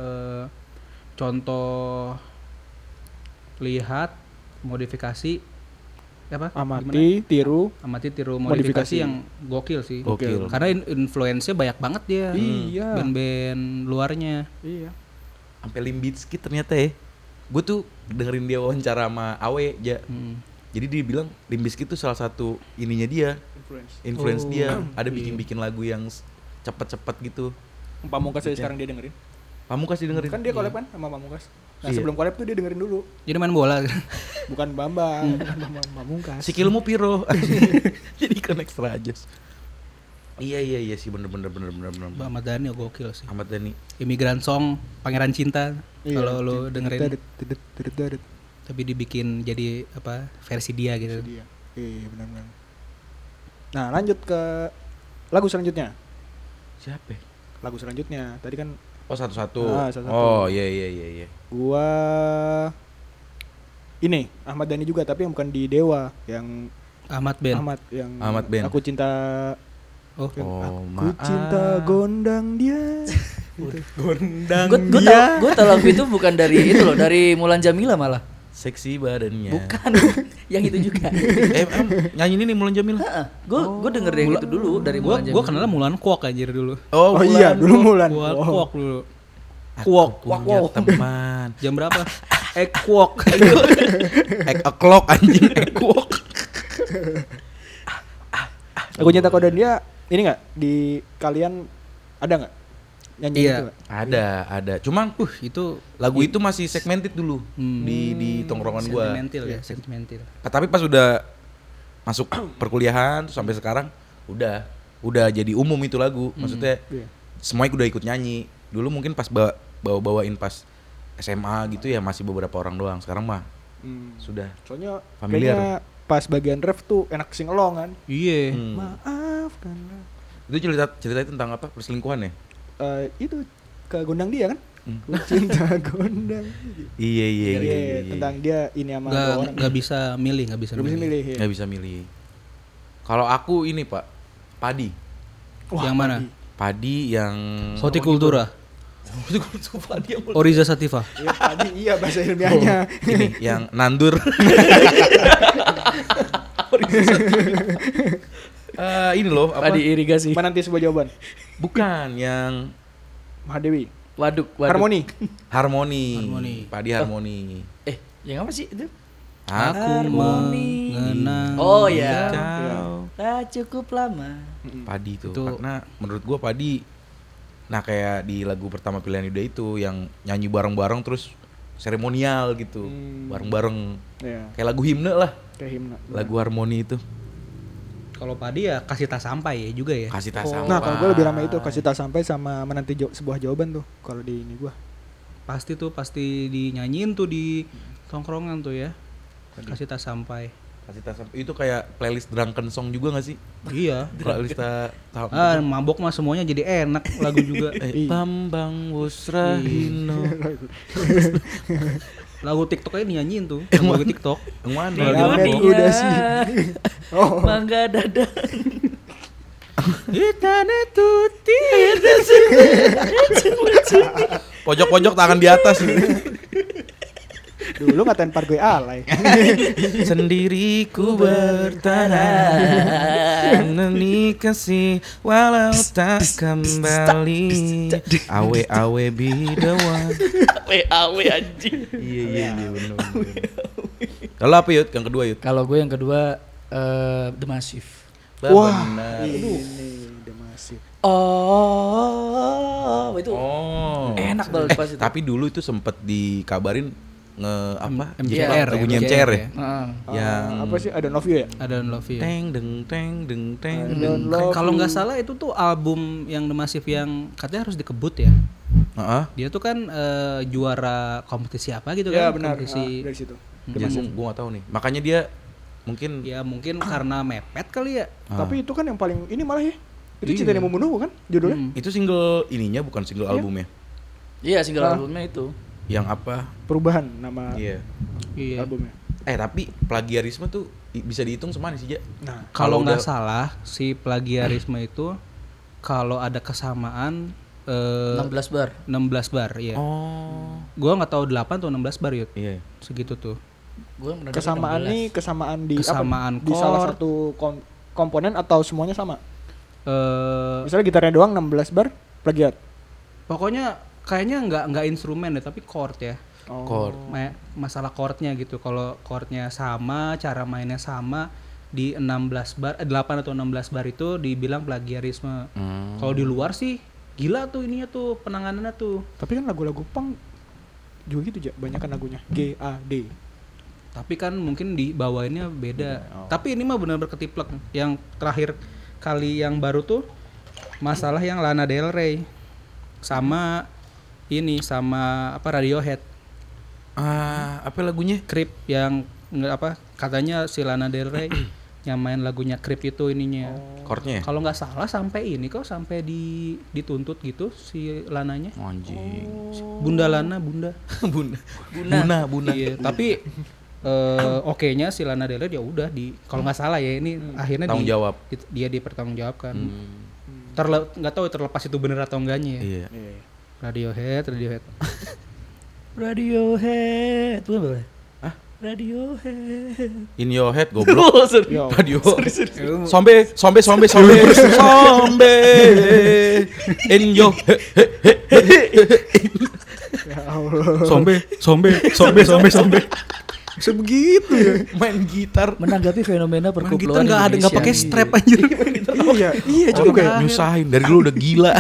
contoh lihat modifikasi amati, tiru, tiru Modifikasi. modifikasi yang gokil sih. Gokil. Karena influence-nya banyak banget dia. Iya. Band-band luarnya. Iya. Sampai Limp Bizkit ternyata ya. Gue tuh dengerin dia wawancara sama Awe ja. Jadi dia bilang Limp Bizkit tuh salah satu ininya dia, influence dia. Ada bikin lagu yang cepet-cepet gitu. Pamungkas aja sekarang dia dengerin. Pamungkas didengerin. Kan dia collab kan sama Pamungkas. Nah, Iya. sebelum collab tuh dia dengerin dulu. Jadi main bola. Bukan Bambang, bukan Bambang Pamungkas. Sikilmu piro. Jadi kan extra aja. Iya sih bener. Mbak Ahmad Dhani gokil sih. Ahmad Dhani. Immigrant Song, Pangeran Cinta. Iya, Kalau lo dengerin, Dedet. tapi dibikin jadi versi dia gitu. Dia. Iya, benar. Nah, lanjut ke lagu selanjutnya. Siapa? Lagu selanjutnya. Tadi kan Oh satu-satu. Satu-satu. Oh iya. gua ini Ahmad Dhani juga tapi yang bukan di Dewa, yang Ahmad Band. Ahmad Band. Aku cinta Oh, Aku cinta gondang dia. Gondang Gue tahu lagu itu bukan dari itu loh, dari Mulan Jamila malah. seksi badannya. Bukan, yang itu juga. Nyanyi ini Mulan Jamila. Gue denger yang itu dulu dari Mulan Jamila. Gue kenalnya Mulan Kwok anjir dulu. Oh iya, dulu Mulan. Kwok dulu. Kwok punya teman. Jam berapa? Kwok. O'clock anjing. Kwok. Aku cinta gondang dia ini enggak di kalian ada enggak? Nyanyi Iya. itu nggak? Ada. Cuman Itu lagu itu masih segmented dulu di tongkrongan gua. sentimental. Tapi pas udah masuk perkuliahan terus sampai sekarang udah jadi umum itu lagu. Maksudnya Iya. semuanya udah ikut nyanyi. Dulu mungkin pas bawain pas SMA gitu ya masih beberapa orang doang. Sekarang mah sudah Soalnya familiar. kayaknya pas bagian ref tuh enak sing along kan. Iya. Maafkanlah. Itu cerita tentang apa? Perselingkuhan ya? Itu ke gondang dia kan? Ku cinta gondang. Iya. Tentang dia ini sama dua orang. Nggak bisa milih. Gak bisa milih. Ya. Nggak bisa milih. Kalau aku ini Pak, padi. Yang mana? Padi yang Hortikultura. Padi yang Oriza Sativa. Iya tadi iya bahasa ilmiahnya. ini yang nandur. Ini loh apa? Padi irigasi. Menanti sebuah jawaban. Bukan yang Mahadewi. Waduk. Harmoni. harmoni. Padi harmoni. Yang apa sih itu? Aku Harmoni. mengenang. Oh ya. kau. Tak cukup lama. Padi tuh. Itu- Karena menurut gua padi. Nah kayak di lagu pertama pilihan Yuda itu yang nyanyi bareng-bareng terus seremonial gitu, bareng-bareng. Iya. Kayak lagu himne lah. Kayak himna. Lagu harmoni itu. Kalau Padi ya kasih tak sampai ya juga ya. Kasih tak Nah kalau gue lebih ramai itu kasih tak sampai sama menanti sebuah jawaban tuh kalau di ini gue. Pasti dinyanyiin tuh di tongkrongan tuh ya. Kasih tak sampai. Kasih tak sampai. Itu kayak playlist drunken song juga gak sih? Iya. Playlist tak Mabok mah semuanya jadi enak lagu juga. Bambang Wusrahino. Lagu TikTok aja dinyanyiin tuh. Lagu TikTok. Yang mana? Lagi Amet mabok. udah sih. Oh. Mangga dada. Hitane tuti. Pojok-pojok tangan di atas. Dulu ngatain par gue alay. Sendiriku bertahan Neni kasih walau tak kembali Awe bidawan. Awe anjing. Iya bener. Kalau apa Yud? Yang kedua Yud? Kalau gue yang kedua The Massive. Wah, Bener. ini udah masih. Oh, itu Oh. enak banget pas itu. Tapi dulu itu sempet dikabarin apa? MCR ya, Lagunya MCR ya? Heeh. Yang Apa sih? I don't love you ya? I don't love you. teng deng teng deng teng I deng. don't love Kalau you. nggak salah itu tuh album yang The Massive yang katanya harus dikebut ya. Heeh. Dia tuh kan juara kompetisi apa gitu Ya kan? benar. Kompetisi. Dari situ. Gue gak tahu nih. Makanya dia mungkin Ya mungkin karena mepet kali ya. Tapi itu kan yang paling ini malah ya. Itu Iya. Cinta yang Membunuhku kan judulnya. itu single ininya bukan single albumnya. Iya, single Ah. albumnya itu. Yang apa? Perubahan nama Iya. Iya. albumnya. Tapi plagiarisme tuh bisa dihitung semana sih, Ja? Nah, Kalau Kalau nggak udah- salah si plagiarisme itu kalau ada kesamaan 16 bar. 16 bar, iya. Oh. Gua nggak tahu 8 atau 16 bar, Yud. Iya. Segitu tuh. Gua pernah Kesamaan 16. nih kesamaan di Kesamaan apa? Di salah chord. satu komponen atau semuanya sama. Eh Misalnya gitarnya doang 16 bar plagiat. pokoknya kayaknya nggak instrumen deh, tapi chord ya. Oh. Chord. Masalah chordnya gitu. Kalau chordnya sama, cara mainnya sama di 16 bar, 8 atau 16 bar itu dibilang plagiarisme. Kalau di luar sih gila tuh ininya tuh penanganannya tuh. Tapi kan lagu-lagu punk juga gitu aja, banyak kan lagunya G A D. Tapi kan mungkin dibawainnya beda. Tapi ini mah benar-benar ketiplek. Yang terakhir kali yang baru tuh masalah yang Lana Del Rey sama ini sama apa Radiohead. Apa lagunya? Creep yang katanya si Lana Del Rey yang main lagunya Creep itu ininya. Chordnya? Kalau nggak salah sampai ini kok sampai dituntut gitu si Lananya. Anjing. Bunda Lana, Bunda. Buna. Iya, tapi oke-nya si Lana Del Rey ya udah kalau nggak salah ya ini akhirnya Tanggung jawab. dia dipertanggungjawabkan. Nggak tahu terlepas itu bener atau enggaknya ya. Iya. Radiohead. Radiohead. Bukan boleh. Hah? Radiohead. In your head goblok. Yo. Radio. Sombe. In your head. Ya Allah. Sombe. Sebegitu ya. Main gitar. Menanggapi fenomena Main perkumpulan gitar nggak Indonesia. pakai strap anjir. Iya juga ya. Nyusahin dari dulu udah gila.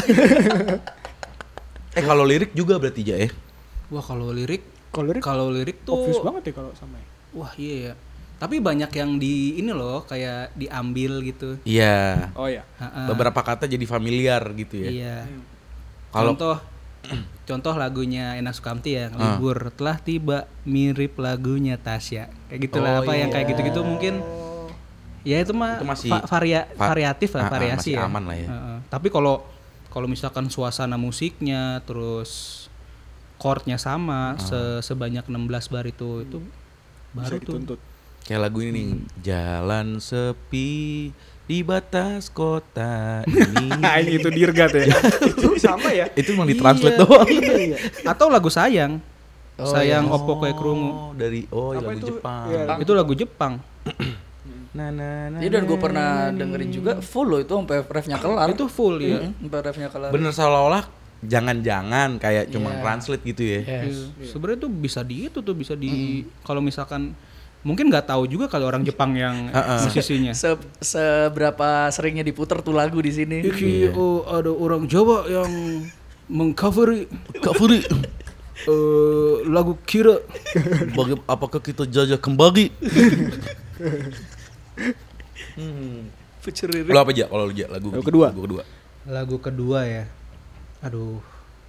Kalau lirik juga berarti ya. Wah, kalau lirik Kalau lirik tuh obvious banget ya kalau sama ya. wah iya ya. Tapi banyak yang di ini loh kayak diambil gitu. Iya. Oh ya. Ha-ha. Beberapa kata jadi familiar gitu ya. Iya. Kalau Contoh lagunya Endang Sukamti ya, libur telah tiba mirip lagunya Tasya. Kayak gitulah Oh, yang iya. kayak gitu-gitu mungkin. Ya itu mah Itu masih variatif lah, variasi masih ya. aman lah ya. Tapi kalau misalkan suasana musiknya terus chordnya sama sebanyak 16 bar itu baru Bisa tuh. dituntut. kayak lagu ini nih, jalan sepi di batas kota ini. Ini itu dirgat ya. Itu sama ya. Itu emang ditranslate doang. Iya. Atau lagu Sayang. Oh, Sayang iya. Oppo Kue Krungu. Dari Apa lagu itu? Jepang. Iya. Itu lagu Jepang. Iya, dan gue pernah dengerin juga full loh itu sampai refnya kelar. Itu full ya. Sampai refnya kelar. Bener seolah-olah jangan-jangan kayak cuma Iya. translate gitu ya. Yes. Sebenarnya tuh bisa bisa di kalau misalkan mungkin nggak tahu juga kalau orang Jepang yang musisinya. Seberapa seringnya diputer tuh lagu di sini. Iki ada orang Jawa yang mengcover lagu Kira. Apakah kita jajah kembali? Lo apa aja kalau lu aja lagu kedua. Lagu kedua ya. Aduh.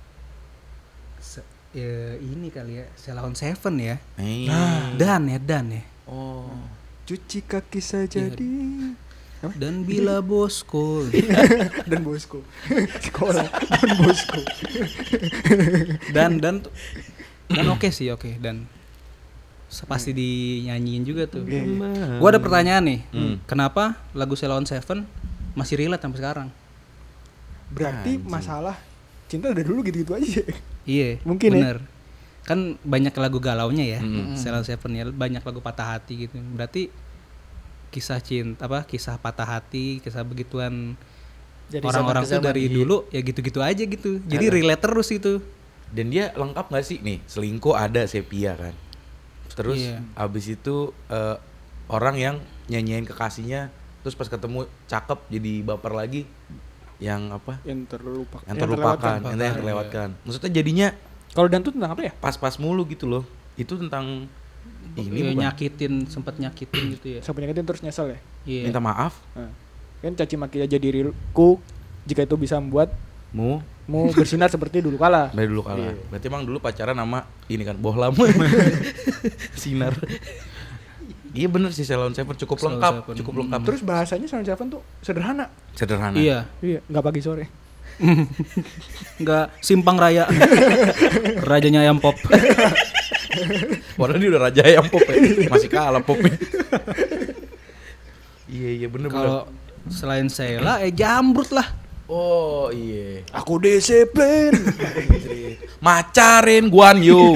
Ini kali ya, Sheila on 7 ya. Dan ya. Oh. Cuci kaki saja Iya. di Dan bila bosku. dan bosku. Sekolah dan bosku. dan oke sih, oke. Dan pasti dinyanyiin juga tuh. Gua ada pertanyaan nih. Kenapa lagu Sheila on 7 masih relate sampai sekarang? Berarti masalah cinta dari dulu gitu-gitu aja. Iya, Mungkin ya. bener. Kan banyak lagu galaunya ya, Sheila on 7 ya, banyak lagu patah hati gitu. Berarti kisah cinta kisah patah hati, kisah begituan Dari orang-orang zaman tuh ke zaman. dari dulu ya gitu-gitu aja gitu. Jadi relate terus itu. Dan dia lengkap gak sih nih? Selingkuh ada sepia kan. Terus Iya. abis itu orang yang nyanyiin kekasihnya, terus pas ketemu cakep jadi baper lagi, yang apa? Yang terlupakan. Yang terlupakan, yang terlewatkan. Maksudnya jadinya Kalau dan tuh tentang apa ya? pas-pas mulu gitu loh. Itu tentang ini Ya, bukan? sempet nyakitin gitu ya. Sampai nyakitin terus nyesel ya. Iya. Minta maaf, Nah, kan caci maki aja diriku jika itu bisa membuatmu bersinar seperti dulu kala. dari dulu kalah. Berarti emang dulu pacaran sama ini kan bohlam. Sinar. Iya bener sih, Sheila on 7 cukup Sheila on lengkap, 7. cukup lengkap. Terus bahasanya Sheila on 7 tuh sederhana. Sederhana. Iya. Iya, nggak pagi sore. Enggak simpang raya. Rajanya ayam pop. Padahal dia udah raja ayam pop ya. Masih kalah popnya. Iya bener. Kalau selain Sheila Jambrut lah. Oh iya. Aku disiplin. Macarin Guan Yu.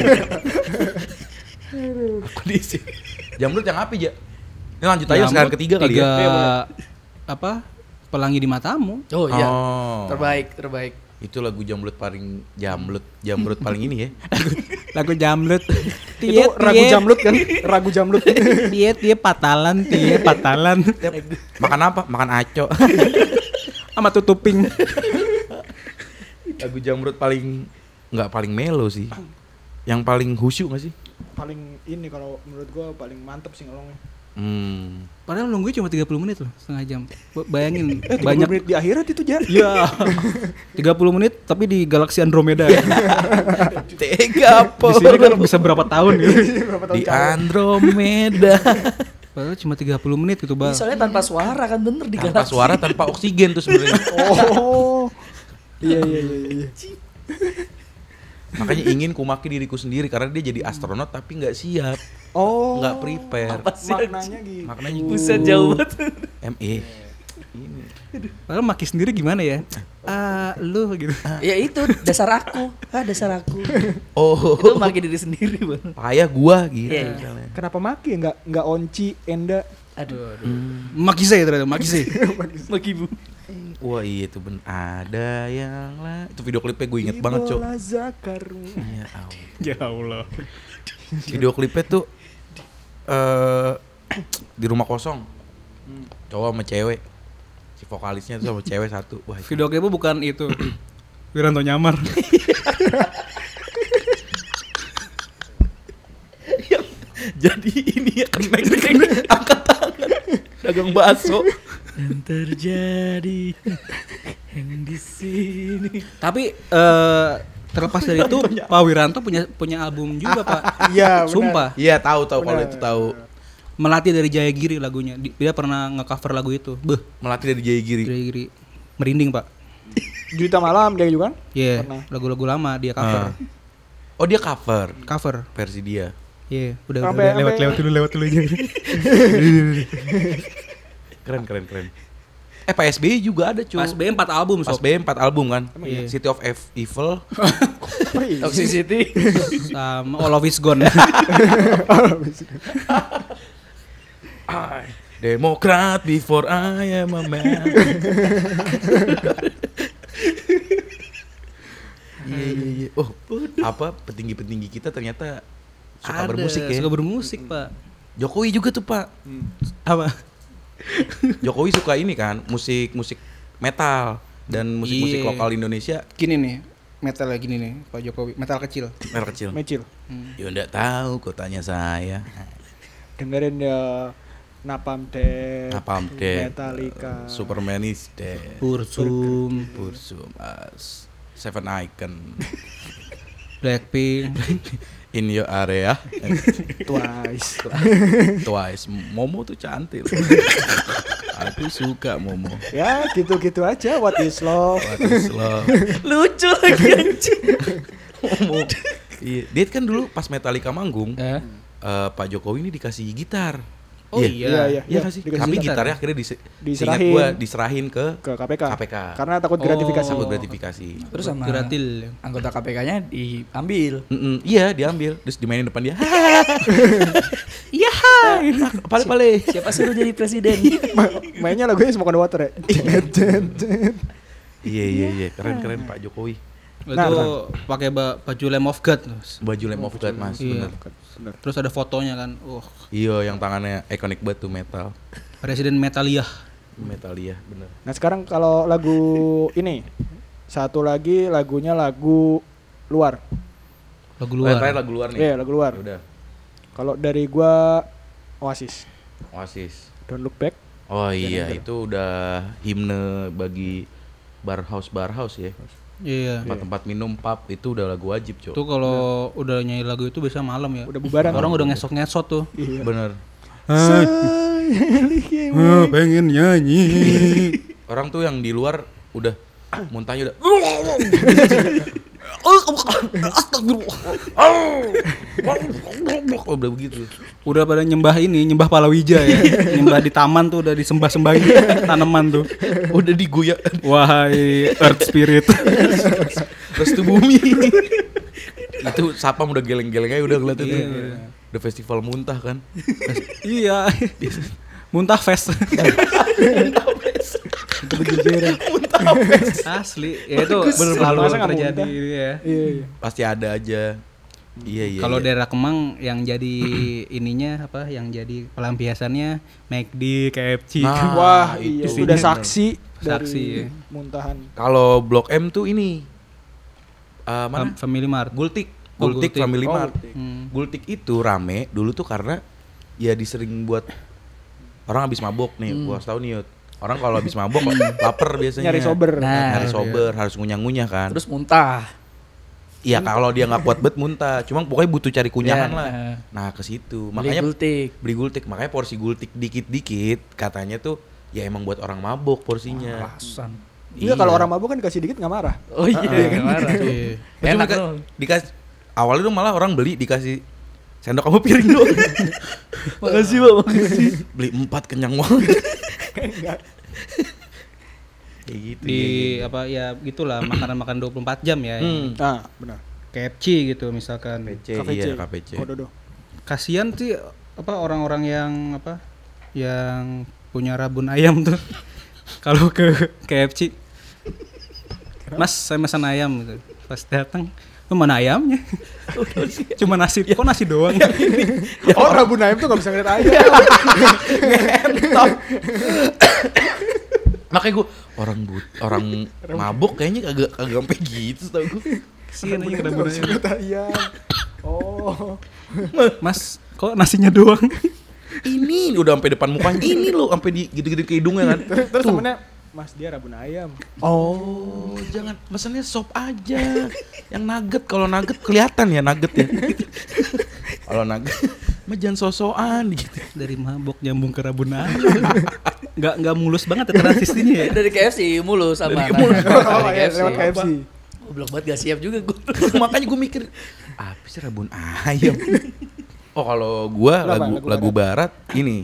Aku diisi. Jamrut yang api, Ja? Ini lanjut aja sekarang ketiga kali ya. Apa? Pelangi di Matamu. Oh iya. Oh. Terbaik. Itu lagu Jamrut paling Jamrut paling ini ya. Lagu Jamrut. Itu ragu jamlut kan? Ragu jamlut. Dia patalan. Makan apa? Makan aco. Sama tutuping. Lagu Jamrut paling nggak paling melo sih. Yang paling khusyuk nggak sih? Paling ini kalau menurut gua paling mantep sih ngelongnya. Padahal nunggunya cuma 30 menit loh, setengah jam. Bayangin 30 banyak menit di akhirat itu Jar. Iya. 30 menit tapi di galaksi Andromeda. Tega Di sini kan bisa berapa tahun gitu. Di Andromeda. Padahal cuma 30 menit gitu, Bang. Soalnya tanpa suara kan bener di Tanpa galaksi. suara, tanpa oksigen tuh sebenarnya. Oh. Iya. Makanya ingin kumaki diriku sendiri karena dia jadi astronot tapi nggak siap, Oh. nggak prepare. Apa sih? Maknanya gitu. Maknanya gitu. Buset jauh banget. ME. Ini. Padahal maki sendiri gimana ya? Lu gitu. Ya itu dasar aku. Dasar aku. Oh. Itu makin diri sendiri, Bang. Payah gua gitu. Iya. misalnya. Kenapa maki ya? Nggak Onci, Enda. Aduh. Maki saya ternyata, maki saya. Maki Bu. Wah iya itu ada yang lah. Itu video klipnya gue inget banget, Cok. Ibola Zakar. Ya Allah. Ya Allah. Video klipnya tuh di rumah kosong. Cowok sama cewek. Si vokalisnya tuh sama cewek satu. Wah, itu. Video klipnya bukan itu. Wiranto nyamar. Jadi ini ya kenek angkat tangan. Dagang bakso. Dan terjadi yang di sini. Tapi terlepas dari itu, Pak Wiranto punya album juga, Pak. Iya, benar. Sumpah. Iya, tahu kalau Benar. itu tahu. Melati dari Jayagiri lagunya. Dia pernah nge-cover lagu itu. Melatih dari Jayagiri. Jayagiri. Merinding, Pak. Juta Malam dia juga kan? Iya, Pernah. lagu-lagu lama dia cover. Oh, dia cover Cover. versi dia. Iya, udah Sampai- lewat dulu aja. Keren. Pak SBY juga ada, cuy. Pas B 4 album, Pas sob. B 4 album kan. Iya. City of Evil. Toxicity. Sama All of It's Gone. Demokrat before I am a man. Iya. Oh, apa petinggi-petinggi kita ternyata suka bermusik ya. Suka bermusik, Pak. Jokowi juga tuh, Pak. Apa? Jokowi suka ini kan, musik metal dan musik-musik Iya. lokal Indonesia. Gini nih, metal gini nih, Pak Jokowi. Metal kecil. Merek kecil. Mecil. Ya enggak tahu, kok tanya saya. Dengerin ya Napalm Death, Napalm Death, Metallica, Superman is Dead, Bursum, Seven Icon, Blackpink. In Your Area, Twice. Twice. Momo tuh cantik. Aku suka Momo. Ya gitu-gitu aja. What is love? What is love? Lucu lagi anjing. Momo. Iya, dia kan dulu pas Metallica manggung, Eh? Pak Jokowi ini dikasih gitar. Oh iya. Iya nggak sih? dikasih Tapi gitar. gitarnya akhirnya Diserahin. seingat gua diserahin ke Ke KPK. KPK. Karena takut gratifikasi. Takut gratifikasi. Terus sama Gratil. anggota KPK-nya diambil. Iya, diambil terus dimainin depan dia. Iya. Pale-pale. Siapa suruh jadi presiden? Mainnya lagunya Smoke on the Water ya. Iya, keren Pak Jokowi. Itu pakai baju Lamb of God. Baju Lamb of God, Mas, Iya. bener. Terus ada fotonya kan. Iya, yang tangannya ikonik banget tuh metal. Presiden Metalia. Metalia, bener. Nah sekarang kalau lagu ini satu lagi lagunya lagu luar. Lagu Terakhir luar. lagu luar nih. Iya lagu luar. Ya udah, Kalau dari gua Oasis. Oasis. Don't Look Back. Oh iya, Bener. itu udah himne bagi barhouse ya. Iya. Tempat-tempat minum pub itu udah lagu wajib, Cok. Itu kalau udah nyanyi lagu itu biasa malam ya. Udah bubaran. Orang udah ngesot-ngesot tuh. Iya. Bener. Pengen nyanyi. Orang tuh yang di luar udah muntahnya udah Astagfirullah. Udah begitu. Udah pada nyembah palawija ya. Nyembah di taman tuh udah disembah-sembahin tanaman tuh. Udah digoyak. Wahai earth spirit. Restu bumi. Itu sapam udah geleng-geleng aja udah ngeliat itu. Udah festival muntah kan. Iya. Muntah fest. Itu kejujuran. Asli. Ya itu selalu Masa nggak terjadi muntah? gitu ya. Iya. Pasti ada aja. Iya. Kalau daerah Kemang yang jadi ininya apa? Yang jadi pelampiasannya McD, KFC. Nah, Wah, itu. iya. Sudah saksi Saksi, dari ya. muntahan. Kalau Blok M tuh ini mana? Family Mart. Gultik. Oh, Gultik Gultik. Family Oh, Mart. Gultik. Gultik itu rame dulu tuh karena ya disering buat orang habis mabok nih. Gua harus tahu nih, Yud. Orang kalau habis mabok lapar biasanya. Nyari sober. Nah, Nyari sober, harus ngunyah-ngunyah kan. Terus muntah. Iya, kalau dia nggak kuat bet muntah. Cuma pokoknya butuh cari kunyahan Ya, lah. Nah, ke situ. Beli Makanya gultik. beli gultik. Makanya porsi gultik dikit-dikit katanya tuh ya emang buat orang mabok porsinya. Alasan. Iya, kalau orang mabuk kan dikasih dikit nggak marah. Oh iya, nggak marah. Iya. Enak Cuma loh. dikasih awalnya tuh malah orang beli dikasih sendok sama piring doang. Makasih Pak, makasih. Beli 4 kenyang banget. Kayak gitu. Di iya. apa ya gitulah makanan-makan 24 jam ya. Nah, benar. KFC gitu misalkan. KPC, KPC. iya KPC. Kododo. Kasihan sih apa orang-orang yang apa yang punya rabun ayam tuh. Kalau ke KFC, Mas saya pesan ayam gitu. Pas datang, lu mana ayamnya? Cuma nasi, kok nasi doang? Oh, rabun ayam tuh nggak bisa ngeliat ayam. Makanya gue orang mabuk kayaknya kagak sampai gitu tau gue. Kasihan aja Rabun ayam tuh rabun nggak bisa ayam. ngeliat ayam. Oh. Mas, kok nasinya doang? Ini udah sampai depan mukanya. Ini loh sampai di gitu-gitu ke hidungnya kan. Terus temennya, Mas dia rabun ayam. Oh, jangan pesannya sop aja. Yang nugget, kalau nugget kelihatan ya nugget ya. Kalau nugget mah jangan sosokan gitu. Dari mabok nyambung ke rabun ayam. Nggak mulus banget ya transisinya ya. Dari KFC mulus sama. Dari mulus. Oh, iya, lewat KFC. Goblok banget gak siap juga gue. Makanya gue mikir apa sih rabun ayam. Oh, kalau gua lagu barat ini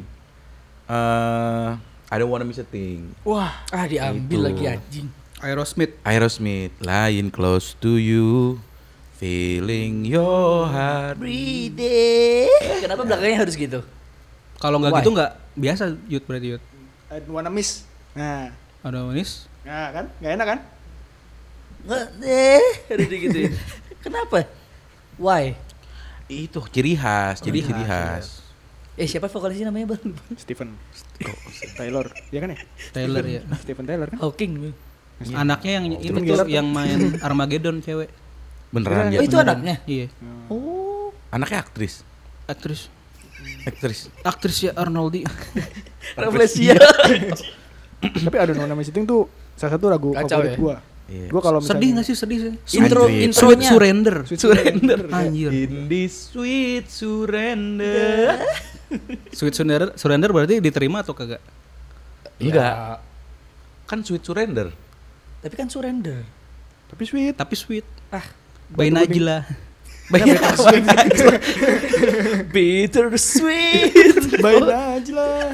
I don't wanna miss a thing. Wah, Diambil Itu. lagi anjing. Aerosmith, lying close to you, feeling your heart. Breathing. Kenapa belakangnya harus gitu? Kalau nggak Why? gitu nggak biasa Yud berarti Yud. I don't wanna miss. Nah, Ada manis. kan? Nggak enak kan? Nggak harus digituin. Kenapa? Why? Itu ciri khas, jadi ciri khas. Siapa vokalisnya namanya Bang? Stephen Taylor, ya kan ya? Taylor ya. Stephen Taylor kan? Hawking. Anaknya yang ini Stephen tuh Gerrard yang main Armageddon cewek. Beneran ya? Oh itu anaknya? Iya. Oh. Anaknya aktris. Aktris ya Arnoldi. Rafflesia. Tapi I don't wanna miss a thing tuh salah satu lagu Kacau favorit ya? gua. Iya. Gua kalau misalnya Sedih nggak sih? Sedih sih. Anjir. Sweet Intronya. Surrender. Surrender. Anjir. In this sweet surrender. Sweet Surrender berarti diterima atau kagak? Enggak. Kan sweet surrender. Tapi kan surrender. Tapi sweet. Tapi sweet. Ah, By Najla. bitter sweet. Baik aja lah.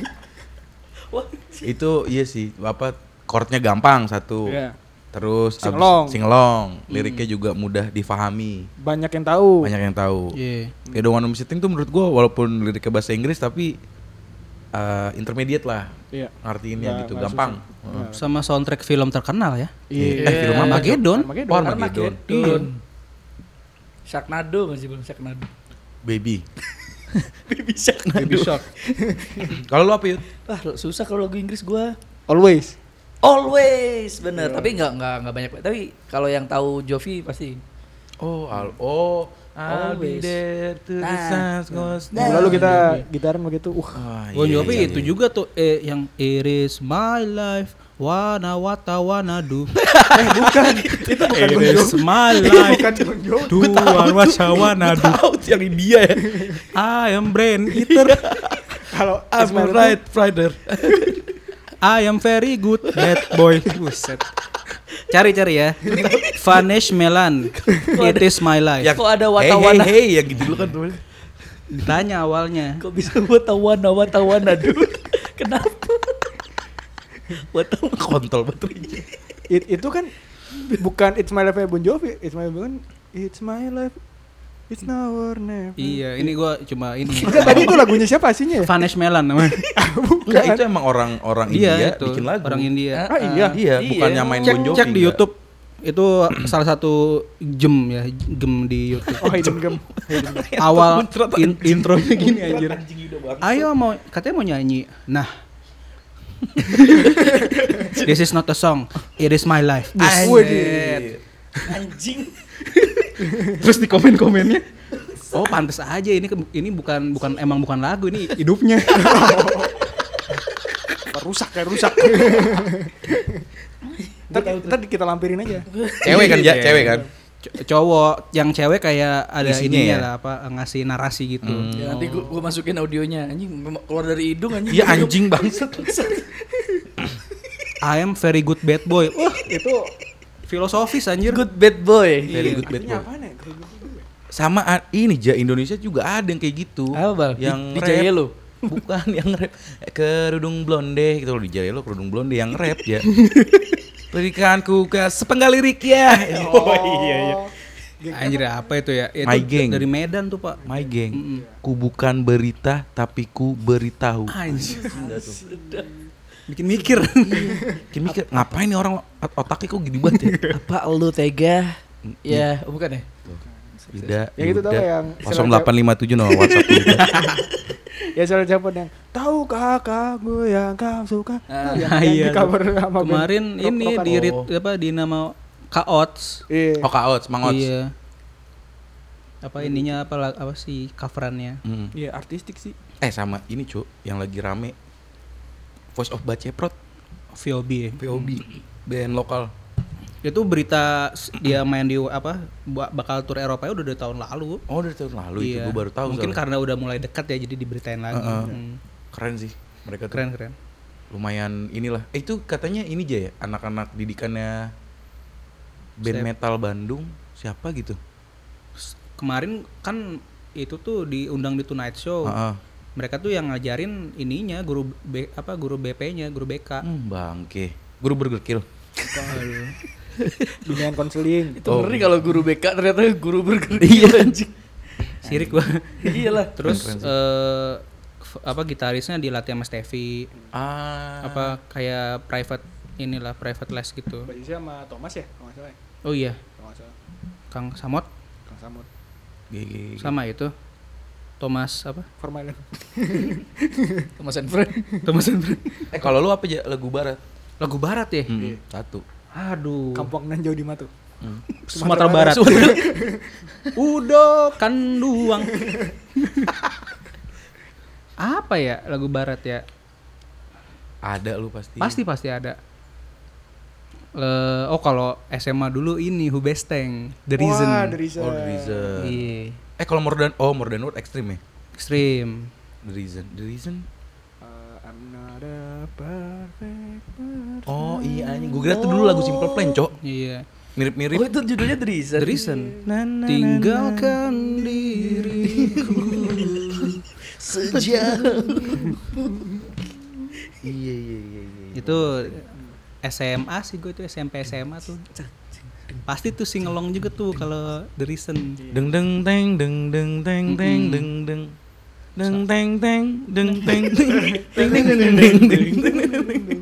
Itu iya sih, apa chordnya gampang satu. Iya. Terus Singelong. singelong, liriknya juga mudah difahami. Banyak yang tahu. Banyak yang tahu. Iya. Kayak The One I'm Sitting tuh menurut gua walaupun liriknya bahasa Inggris tapi intermediate lah Iya. ngartiinnya Nggak- gitu, nggak gampang. susah. Heeh. Sama soundtrack film terkenal ya. Iya. Film apa? Armageddon. Oh, Armageddon. Iya. Sharknado masih belum Sharknado. Baby. Baby Sharknado. Baby Shark. Kalau lu apa Yud? Susah kalau lagu Inggris gua. Always. Always bener. Tapi nggak banyak. Tapi kalau yang tahu Jovi pasti. I'll be Always. there to the Nah. sun goes Nah. down. Lalu kita gitaran begitu. Bon Jovi itu juga tuh yang It is my life wanna do. Bukan. Itu bukan It Bon is Jovi. my Itu life bukan Bon Jovi. do what I wanna do. Tahu yang India ya. I am brain eater. Kalau I'm Ismail right Friday. I am very good bad boy. Buset. Cari ya. Vanesh Melan. It is my life. Yang, Kok ada watawan? Hey, ya gitu dulu kan tuh. Ditanya awalnya. Kok bisa watawan dulu? Kenapa? Watawan. Kontol baterainya. Itu kan bukan It's My Life Bon Jovi, It's My Life bukan It's My Life. It's now or never. Iya, ini gua cuma ini. Enggak, tadi itu lagunya siapa aslinya ya? Vanesh Melan namanya. Enggak, itu emang orang India itu, bikin lagu. orang India. Ah, iya. Iya, bukannya main Cek, Bon Jovi. cek di enggak. YouTube. Itu salah satu gem ya, gem di YouTube. Oh, Hidden Gem. Awal intronya gini anjir. Ayo katanya mau nyanyi. Nah. This is not a song. It is my life. Anjir. Anjing. Terus di komen-komennya, oh pantes aja ini bukan lagu, ini hidupnya. Rusak. Ntar kita lampirin aja. Cewek kan, ya, cewek kan. Cowok, yang cewek kayak ada Isinya ininya ya? lah, apa ngasih narasi gitu. Ya, nanti gua masukin audionya. Anjing memang keluar dari hidung anjing. Iya anjing bangsat. I am very good bad boy. Wah, itu filosofis anjir. Good bad boy. Very good bad boy. Apaan ya? Sama ini Indonesia juga ada yang kayak gitu. Apa, Bal? Yang Di rap. Jaya lo? Bukan yang rap. Kerudung blonde gitu loh, di Jaya lo kerudung blonde yang rap ya. Berikan ku ke sepenggal lirik ya. Oh iya. Anjir apa itu ya? Itu My Gang. dari Medan tuh, Pak. My Gang. Ku bukan berita tapi ku beritahu. Anjir. Bikin mikir. Bikin mikir, ngapain nih orang otaknya kok gini banget ya? Apa lu tega? Ya, bukan ya? Tidak. Yang itu tau yang 0857 no WhatsApp kita. Ya soal siapa yang tahukah kamu yang kau suka? Yang Iya. di cover sama band Kemarin ini rock-rockan. di apa di nama Kaots. Iya. Oh Kak Ots, Mang Ots. Iya. Apa ininya apa sih coverannya? Iya, artistik sih. Sama ini Cuk, yang lagi rame Voice of Baceprot, VOB. Ya. VOB, band lokal. Itu berita dia main di apa bakal tur Eropa udah dari tahun lalu. Oh dari tahun lalu itu, Iya. gue baru tahu. Mungkin soalnya. karena udah mulai dekat ya jadi diberitain lagi. Keren sih mereka tuh. Keren. Lumayan inilah. Itu katanya ini aja ya, anak-anak didikannya band Siapa? metal Bandung siapa gitu. Kemarin kan itu tuh diundang di Tonight Show. Mereka tuh yang ngajarin ininya guru guru BP-nya, guru BK. Bangke. Guru Burger Kill. Dunia konseling. Itu ngeri kalau guru BK ternyata guru bergerak. Iya. Anjing. Sirik gua. Iyalah. Terus Keren sih. apa gitarisnya dilatih sama Steffi. Apa kayak private les gitu. Basisnya sama Thomas ya? Kalau nggak salah ya? Oh iya, Kalau nggak salah. Kang Samot Kang Samut. GG. sama itu. Thomas apa? Formilen. Thomas and Friend. Thomas Hendra. Kalau lu apa aja lagu barat? Lagu barat ya? Satu. Aduh. Kampung nan jauh di Matu. Sumatera Barat. Udo Kanduang. Apa ya lagu barat ya? Ada lu pasti. Pasti ada. Kalau SMA dulu ini Hubesteng, The Reason. Wah, The Reason. Oh, The Reason. Iya. Kalau More Than Words Extreme ya? Extreme. The Reason. I'm not a perfect person. Oh iya anjing, gue kira tuh dulu lagu Simple Plan, Cok. Iya. Mirip-mirip. Oh itu judulnya The Reason. The Reason. Tinggalkan diriku Sejauh. Iya. itu SMA sih gue itu SMP SMA tuh. Pasti tuh singelong juga tuh kalau The Reason. Deng deng teng deng deng teng teng deng deng deng teng teng deng teng teng deng deng.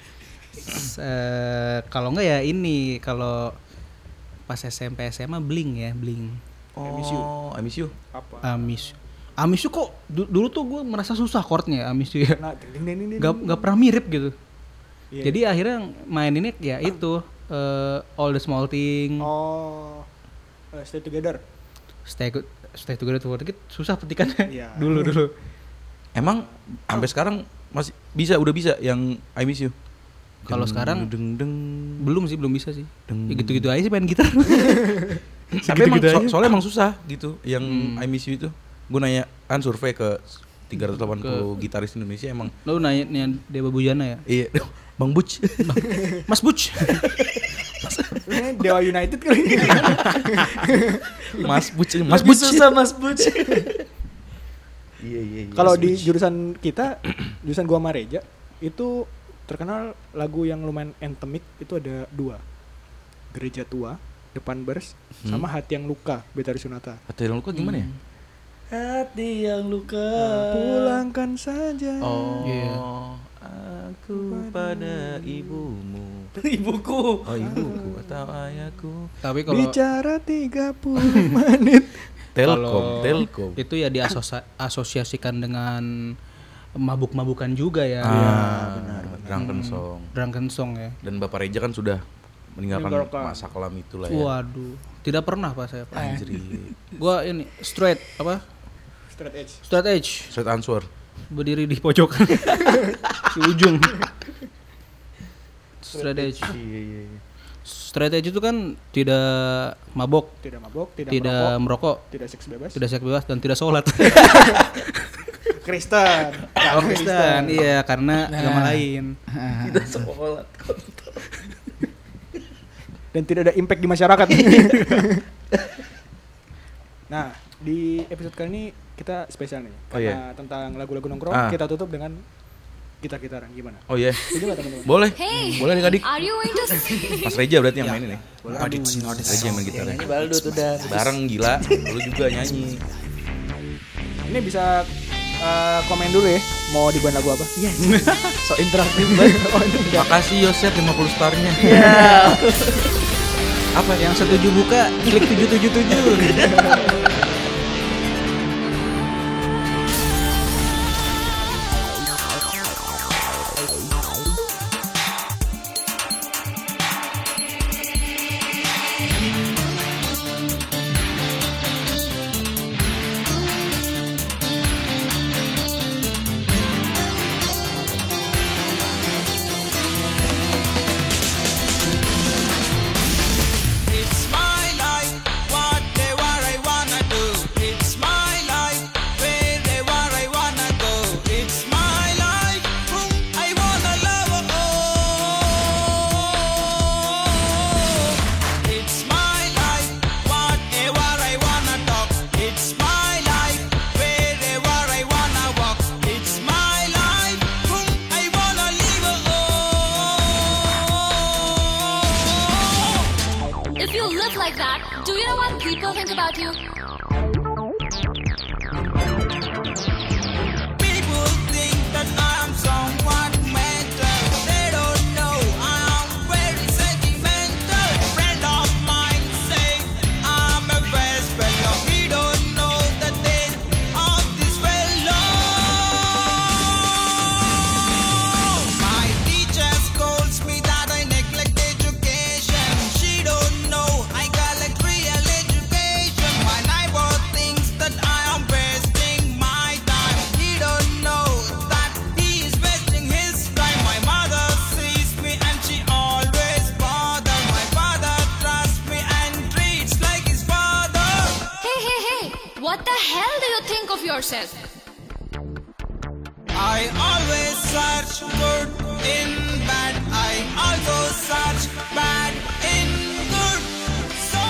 Kalau enggak ya ini kalau pas SMP SMA Blink. Oh, I miss you. Apa? Amis kok dulu tuh gue merasa susah chordnya Amis ya. Nah, ding. Gak pernah mirip gitu. Iya. Jadi akhirnya main ini ya itu All the Small Thing. Oh. Stay Together. Stay Together Together susah petikannya. Iya. dulu. Emang sampai sekarang masih udah bisa yang I miss you. Kalau sekarang deng deng. belum bisa sih. Ya gitu-gitu aja sih main gitar. Tapi emang Gitu-gitu aja. soalnya emang susah gitu yang I miss you itu. Gue nanya kan survei ke 380 gitaris Indonesia emang. Lo nanya Dewa Bujana ya? Iya, Bang Buc. Mas Buc. Namanya Dewa United kali. Mas Buc. Lebih susah Mas Buc. Iya. Kalau di jurusan kita, jurusan gua sama Reja itu terkenal lagu yang lumayan endemik itu ada 2. Gereja Tua, Depan Bers, sama Hati Yang Luka, Betari Sunata. Hati yang luka gimana ya? Hati yang luka. Pulangkan saja. Oh. Iya. Aku pada ibumu. Ibuku. Oh, ibuku atau ayahku. Tapi kalau Bicara 30 menit. Telkom. itu ya diasosiasikan dengan mabuk-mabukan juga ya. benar. Drunken song ya. Dan Bapak Reja kan sudah meninggalkan Meninggalkan. masa kelam itulah ya. Waduh, tidak pernah Pak saya. Pak. Anjir. Gua ini straight Straight edge. Straight answer. berdiri di pojokan di ujung. Straight edge. Iya. Straight edge itu kan tidak mabok, Tidak mabok, tidak merokok, tidak seks bebas. tidak seks bebas dan tidak sholat. Kristen. Oh, Kristen, iya karena agama lain. Tidak sholat. Dan tidak ada impact di masyarakat. Nah, di episode kali ini kita spesial nih. Oh, iya. Karena tentang lagu-lagu nongkrong, kita tutup dengan gitar-gitaran. Gimana? Oh iya. Setuju nggak teman-teman? Boleh. Hey, Boleh nih Kadik. are you going to Mas Reja berarti yang main ini. Reja yang main gitarnya. Ini Baldut udah. Bareng gila. Lu juga nyanyi. Ini bisa komen dulu ya, mau dibuat lagu apa? Iya. So interaktif banget. Makasih Yosef 50 starnya. Apa yang setuju buka klik 777. It's my life, whatever I wanna do. It's my life, wherever I wanna go. It's my life, whom I wanna love. Oh, it's my life, whatever I wanna talk. It's my life, wherever I wanna walk. It's my life, whom I wanna live. Oh. If you live like that, do you know what people think about you? People think that I am somewhat mental. They don't know I am very sentimental. Friend of mine say I'm a best fellow. He don't know the thing of this fellow. My teacher scolds me that I neglect education. She don't know I collect real education. My neighbor thinks that I am wasting my time. He don't know that he is wasting his time. My mother sees me and she always bother. My father trusts me and treats like his father. Hey, what the hell do you think of yourself? I always search good in bad. I also search bad in good. So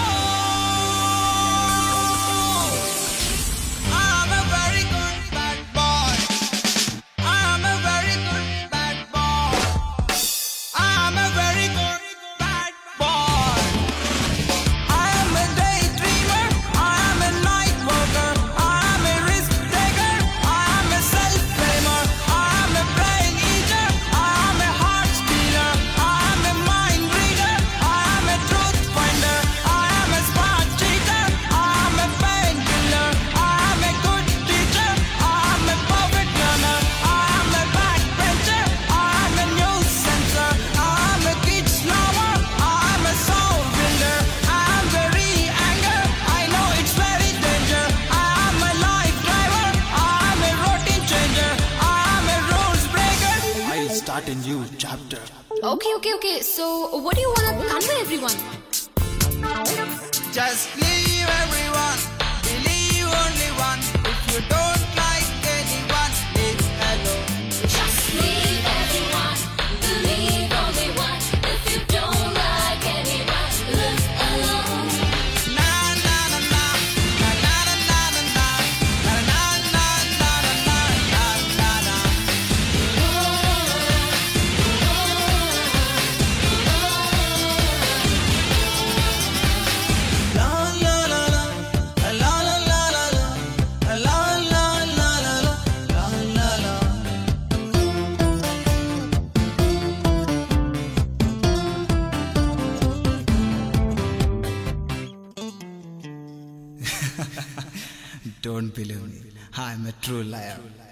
I'm a very good bad boy. I'm a very good bad boy. I'm a very good bad boy. I am a daydreamer. I am a night worker. I am a risk taker. I am a self-claimer. I am a brain eater. I am a heart stealer. I am a mind reader. I am a truth finder. I am a smart cheater. I am a painkiller. I am a good teacher. I am a perfect learner. I am a backbencher. I am a nuisance. I am a kid slower. I am a soul builder. I am very anger. I know it's very danger. I am a life driver. I am a routine changer. I am a rules breaker. I'll start a new chapter. Okay. So, what do you want to convey everyone? Just leave everyone. Believe only one. If you don't like anyone, leave alone. Just leave everyone, believe only one. If you don't like anyone, don't believe me. I'm a true liar.